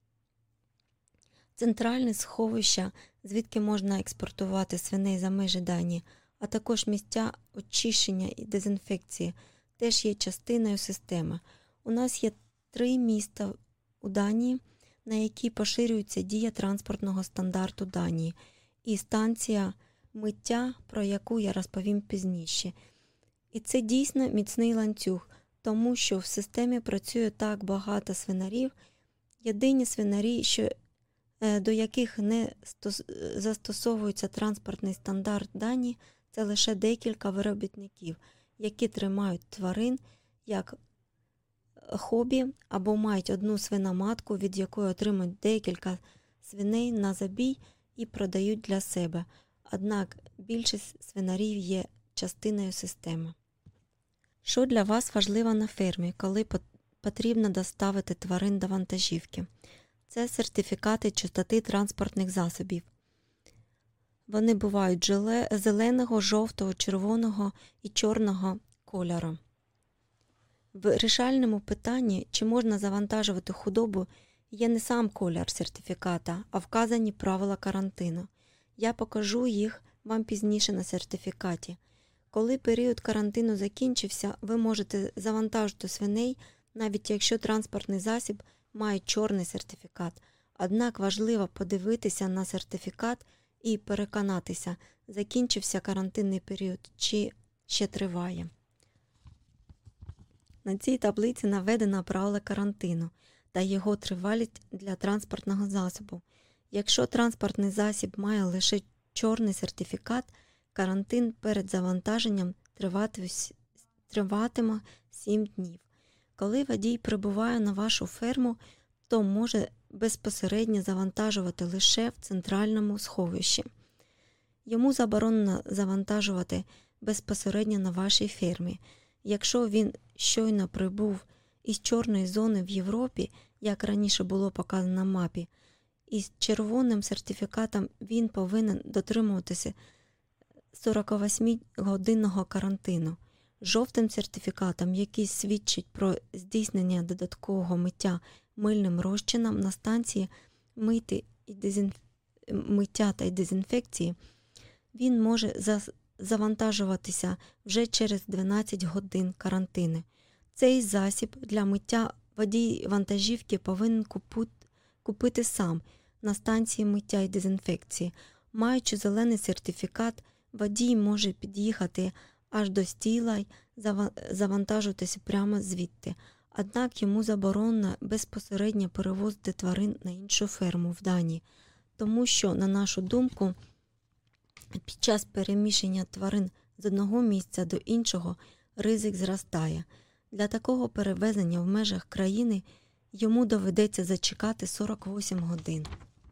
Центральне сховище, звідки можна експортувати свиней за межі Данії, а також місця очищення і дезінфекції, теж є частиною системи. У нас є три міста у Данії, на які поширюється дія транспортного стандарту Данії, і станція миття, про яку я розповім пізніше. І це дійсно міцний ланцюг, тому що в системі працює так багато свинарів. Єдині свинарі, що, до яких не застосовується транспортний стандарт Данії, це лише декілька виробітників, які тримають тварин як хобі або мають одну свиноматку, від якої отримують декілька свиней на забій і продають для себе. Однак більшість свинарів є частиною системи. Що для вас важливо на фермі, коли потрібно доставити тварин до вантажівки? Це сертифікати чистоти транспортних засобів. Вони бувають зеленого, жовтого, червоного і чорного кольору. В вирішальному питанні, чи можна завантажувати худобу, є не сам колір сертифіката, а вказані правила карантину. Я покажу їх вам пізніше на сертифікаті. Коли період карантину закінчився, ви можете завантажити свиней, навіть якщо транспортний засіб має чорний сертифікат. Однак важливо подивитися на сертифікат і переконатися, закінчився карантинний період чи ще триває. На цій таблиці наведено правила карантину та його тривалість для транспортного засобу. Якщо транспортний засіб має лише чорний сертифікат, карантин перед завантаженням триватиме сім днів. Коли водій прибуває на вашу ферму, то може безпосередньо завантажувати лише в центральному сховищі. Йому заборонено завантажувати безпосередньо на вашій фермі. Якщо він щойно прибув із чорної зони в Європі, як раніше було показано на мапі, із червоним сертифікатом він повинен дотримуватися сорокавосьмигодинного карантину. Жовтим сертифікатом, який свідчить про здійснення додаткового миття мильним розчином на станції мити і дезінф... миття та дезінфекції, він може завантажуватися вже через дванадцять годин карантину. Цей засіб для миття водій вантажівки повинен купити сам на станції миття і дезінфекції. Маючи зелений сертифікат, водій може під'їхати аж до стійла й завантажуватися прямо звідти. Однак йому заборонено безпосередньо перевозити тварин на іншу ферму в Данії, тому що, на нашу думку, під час переміщення тварин з одного місця до іншого ризик зростає. Для такого перевезення в межах країни йому доведеться зачекати сорок вісім годин.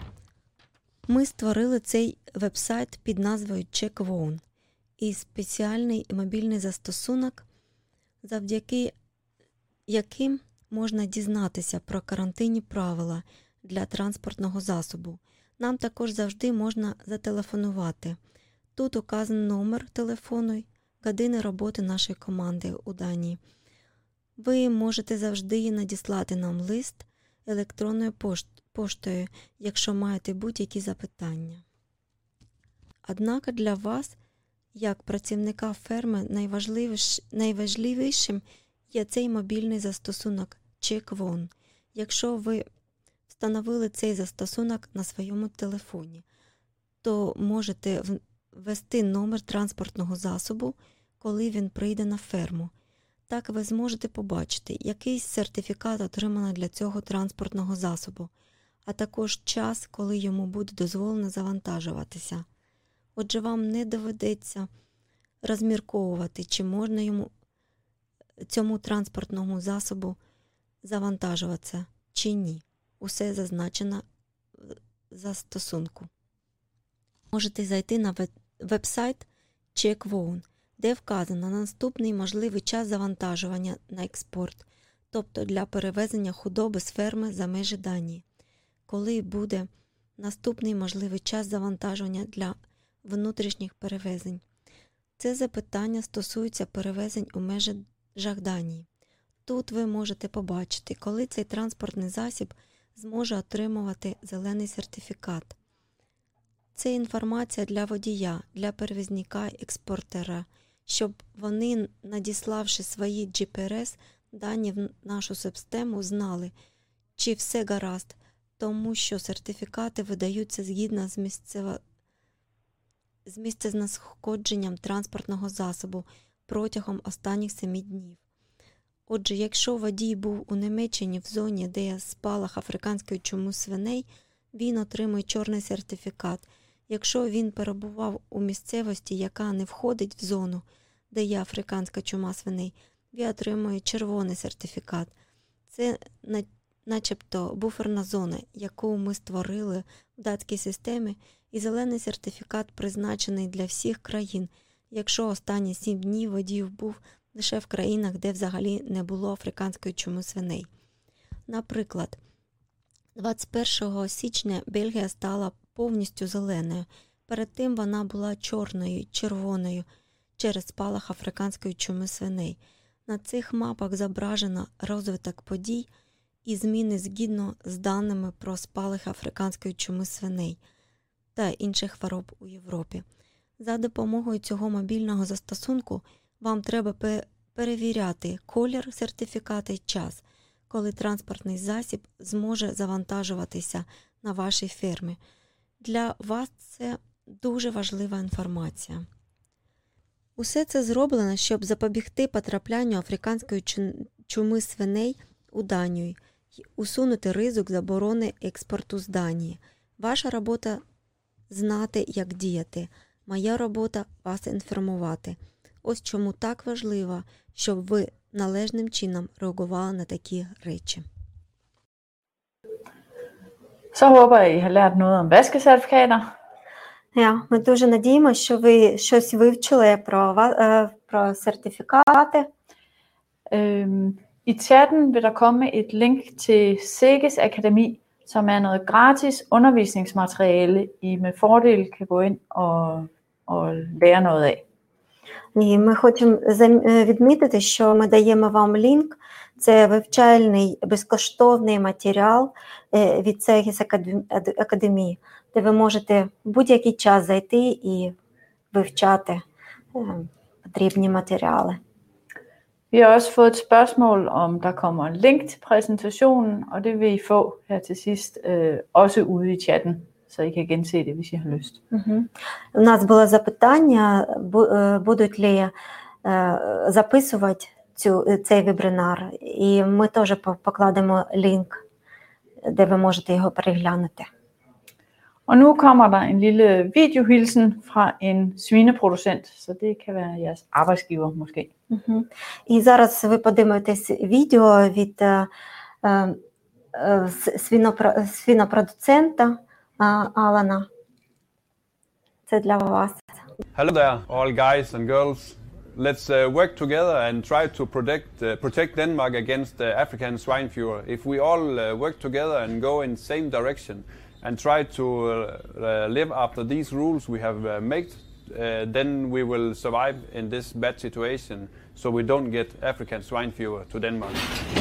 Ми створили цей веб-сайт під назвою CheckVone і спеціальний мобільний застосунок, завдяки яким можна дізнатися про карантинні правила для транспортного засобу. Нам також завжди можна зателефонувати. Тут указаний номер телефону й години роботи нашої команди у Данії. Ви можете завжди надіслати нам лист електронною поштою, якщо маєте будь-які запитання. Однак для вас, як працівника ферми, найважливіш... найважливішим є цей мобільний застосунок CheckVone. Якщо ви встановили цей застосунок на своєму телефоні, то можете ввести номер транспортного засобу, коли він прийде на ферму. Так ви зможете побачити, який сертифікат отримано для цього транспортного засобу, а також час, коли йому буде дозволено завантажуватися. Отже, вам не доведеться розмірковувати, чи можна йому, цьому транспортному засобу завантажуватися, чи ні. Усе зазначено в застосунку. Можете зайти на веб-сайт CheckVone, де вказано наступний можливий час завантажування на експорт, тобто для перевезення худоби з ферми за межі Данії. Коли буде наступний можливий час завантажування для внутрішніх перевезень. Це запитання стосується перевезень у межах Данії. Тут ви можете побачити, коли цей транспортний засіб зможе отримувати зелений сертифікат. Це інформація для водія, для перевізника і експортера, щоб вони, надіславши свої джі пі ар ес дані в нашу систему, знали, чи все гаразд, тому що сертифікати видаються згідно з, місцево... з місцезнаходженням транспортного засобу протягом останніх семи днів. Отже, якщо водій був у Німеччині в зоні, де є спалах африканської чуми свиней, він отримує чорний сертифікат. Якщо він перебував у місцевості, яка не входить в зону, де є африканська чума свиней, він отримує червоний сертифікат. Це начебто буферна зона, яку ми створили в датській системі, і зелений сертифікат призначений для всіх країн, якщо останні сім днів водій був лише в країнах, де взагалі не було африканської чуми свиней. Наприклад, двадцять першого січня Бельгія стала повністю зеленою. Перед тим вона була чорною, червоною через спалах африканської чуми свиней. На цих мапах зображено розвиток подій і зміни згідно з даними про спалах африканської чуми свиней та інших хвороб у Європі. За допомогою цього мобільного застосунку вам треба перевіряти колір сертифіката і час, коли транспортний засіб зможе завантажуватися на вашій фермі. Для вас це дуже важлива інформація. Усе це зроблено, щоб запобігти потраплянню африканської чуми свиней у Данію і усунути ризик заборони експорту з Данії. Ваша робота – знати, як діяти. Моя робота – вас інформувати. Ось чому так важливо, щоб ви належним чином реагували на такі речі. Så håber jeg, I har lært noget om vaskecertifikater. Ja, ми дуже надіємося, що ви щось вивчили про, ва- е, про сертифікати. Øhm, I chatten vil der komme et link til SEGES Akademi, som er noget gratis undervisningsmateriale, I med fordel kan gå ind og, og lære noget af. І ми хочемо зам- е, відмітити, що ми даємо вам лінк. Це вивчальний безкоштовний матеріал е, від Сегіс Академії, де ви можете в будь-який час зайти і вивчати е, потрібні матеріали. Vi har også fået et spørgsmål, om der kommer en link til præsentationen, og det vil I få her til sidst, øh, også ude i chatten, så I kan gense det, hvis I har lyst. Угу. У нас було запитання, бу- е, будуть ли е, записувати цю, цей вебінар, і ми теж по- покладемо лінк, де ви можете його переглянути. Og nu kommer der en lille videohilsen fra en svineproducent, så det kan være jeres arbejdsgiver måske. Угу. І зараз ви подивитесь відео від е, е, с- свінопро- свінопродуцента е, Алана. Це для вас. Hello there, all guys and girls. Let's uh, work together and try to protect uh, protect Denmark against uh, African swine fever. If we all uh, work together and go in same direction and try to uh, uh, live after these rules we have uh, made, uh, then we will survive in this bad situation, so we don't get African swine fever to Denmark.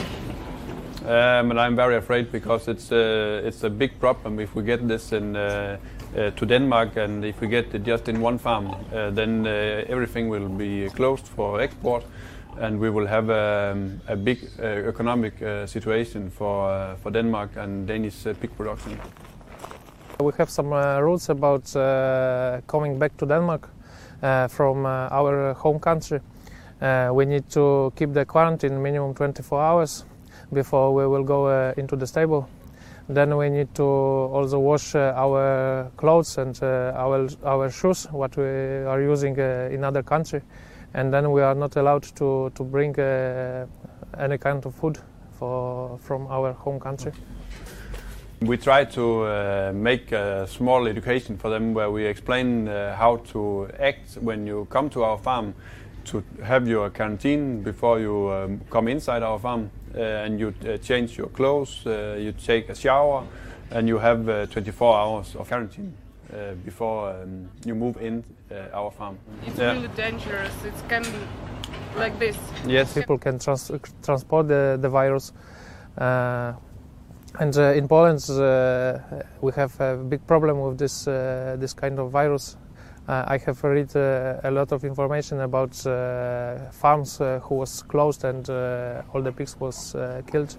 Um, and I'm very afraid because it's uh, it's a big problem if we get this in. Uh, Uh, to Denmark, and if we get it just in one farm, uh, then uh, everything will be closed for export, and we will have um, a big uh, economic uh, situation for uh, for Denmark and Danish uh, pig production. We have some uh, rules about uh, coming back to Denmark uh, from uh, our home country. Uh, we need to keep the quarantine minimum twenty-four hours before we will go uh, into the stable. Then we need to also wash uh, our clothes and uh, our our shoes, what we are using uh, in other country, and then we are not allowed to to bring uh, any kind of food for from our home country. We try to uh, make a small education for them where we explain uh, how to act when you come to our farm, to have your quarantine before you um, come inside our farm. Uh, and you uh, change your clothes, uh, you take a shower, and you have uh, twenty-four hours of quarantine uh, before um, you move in uh, our farm. It's Yeah. really dangerous. It can be like this. Yes. People can trans- transport the, the virus. Uh, and uh, in Poland, uh, we have a big problem with this uh, this kind of virus. Uh, I have read uh, a lot of information about uh, farms uh, who was closed and uh, all the pigs was uh, killed.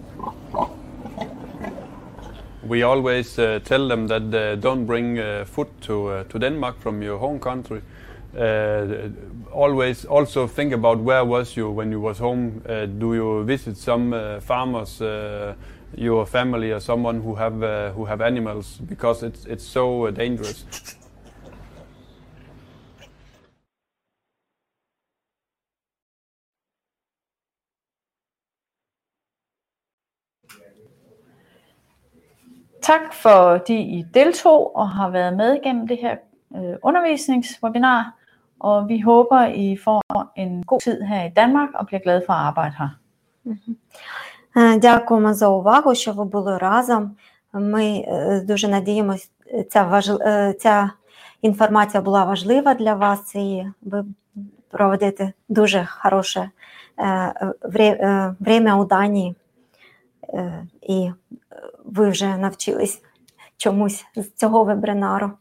We always uh, tell them that uh, don't bring uh, food to uh, to Denmark from your home country. Uh, always also think about where was you when you was home. Uh, do you visit some uh, farmers, uh, your family, or someone who have uh, who have animals? Because it's it's so uh, dangerous. Tak fordi I deltog og har været med gennem det her øh, undervisningswebinar, og vi håber, I får en god tid her i Danmark og bliver glade for at arbejde her. Е, Дякуємо за увагу, що ви були разом. Ми е, дуже надіємося, ця, важ... е, ця інформація була важлива для вас, і ви проведете дуже хороше е, вре- е, время у Данії. Е, І ви вже навчились чомусь з цього вебінару.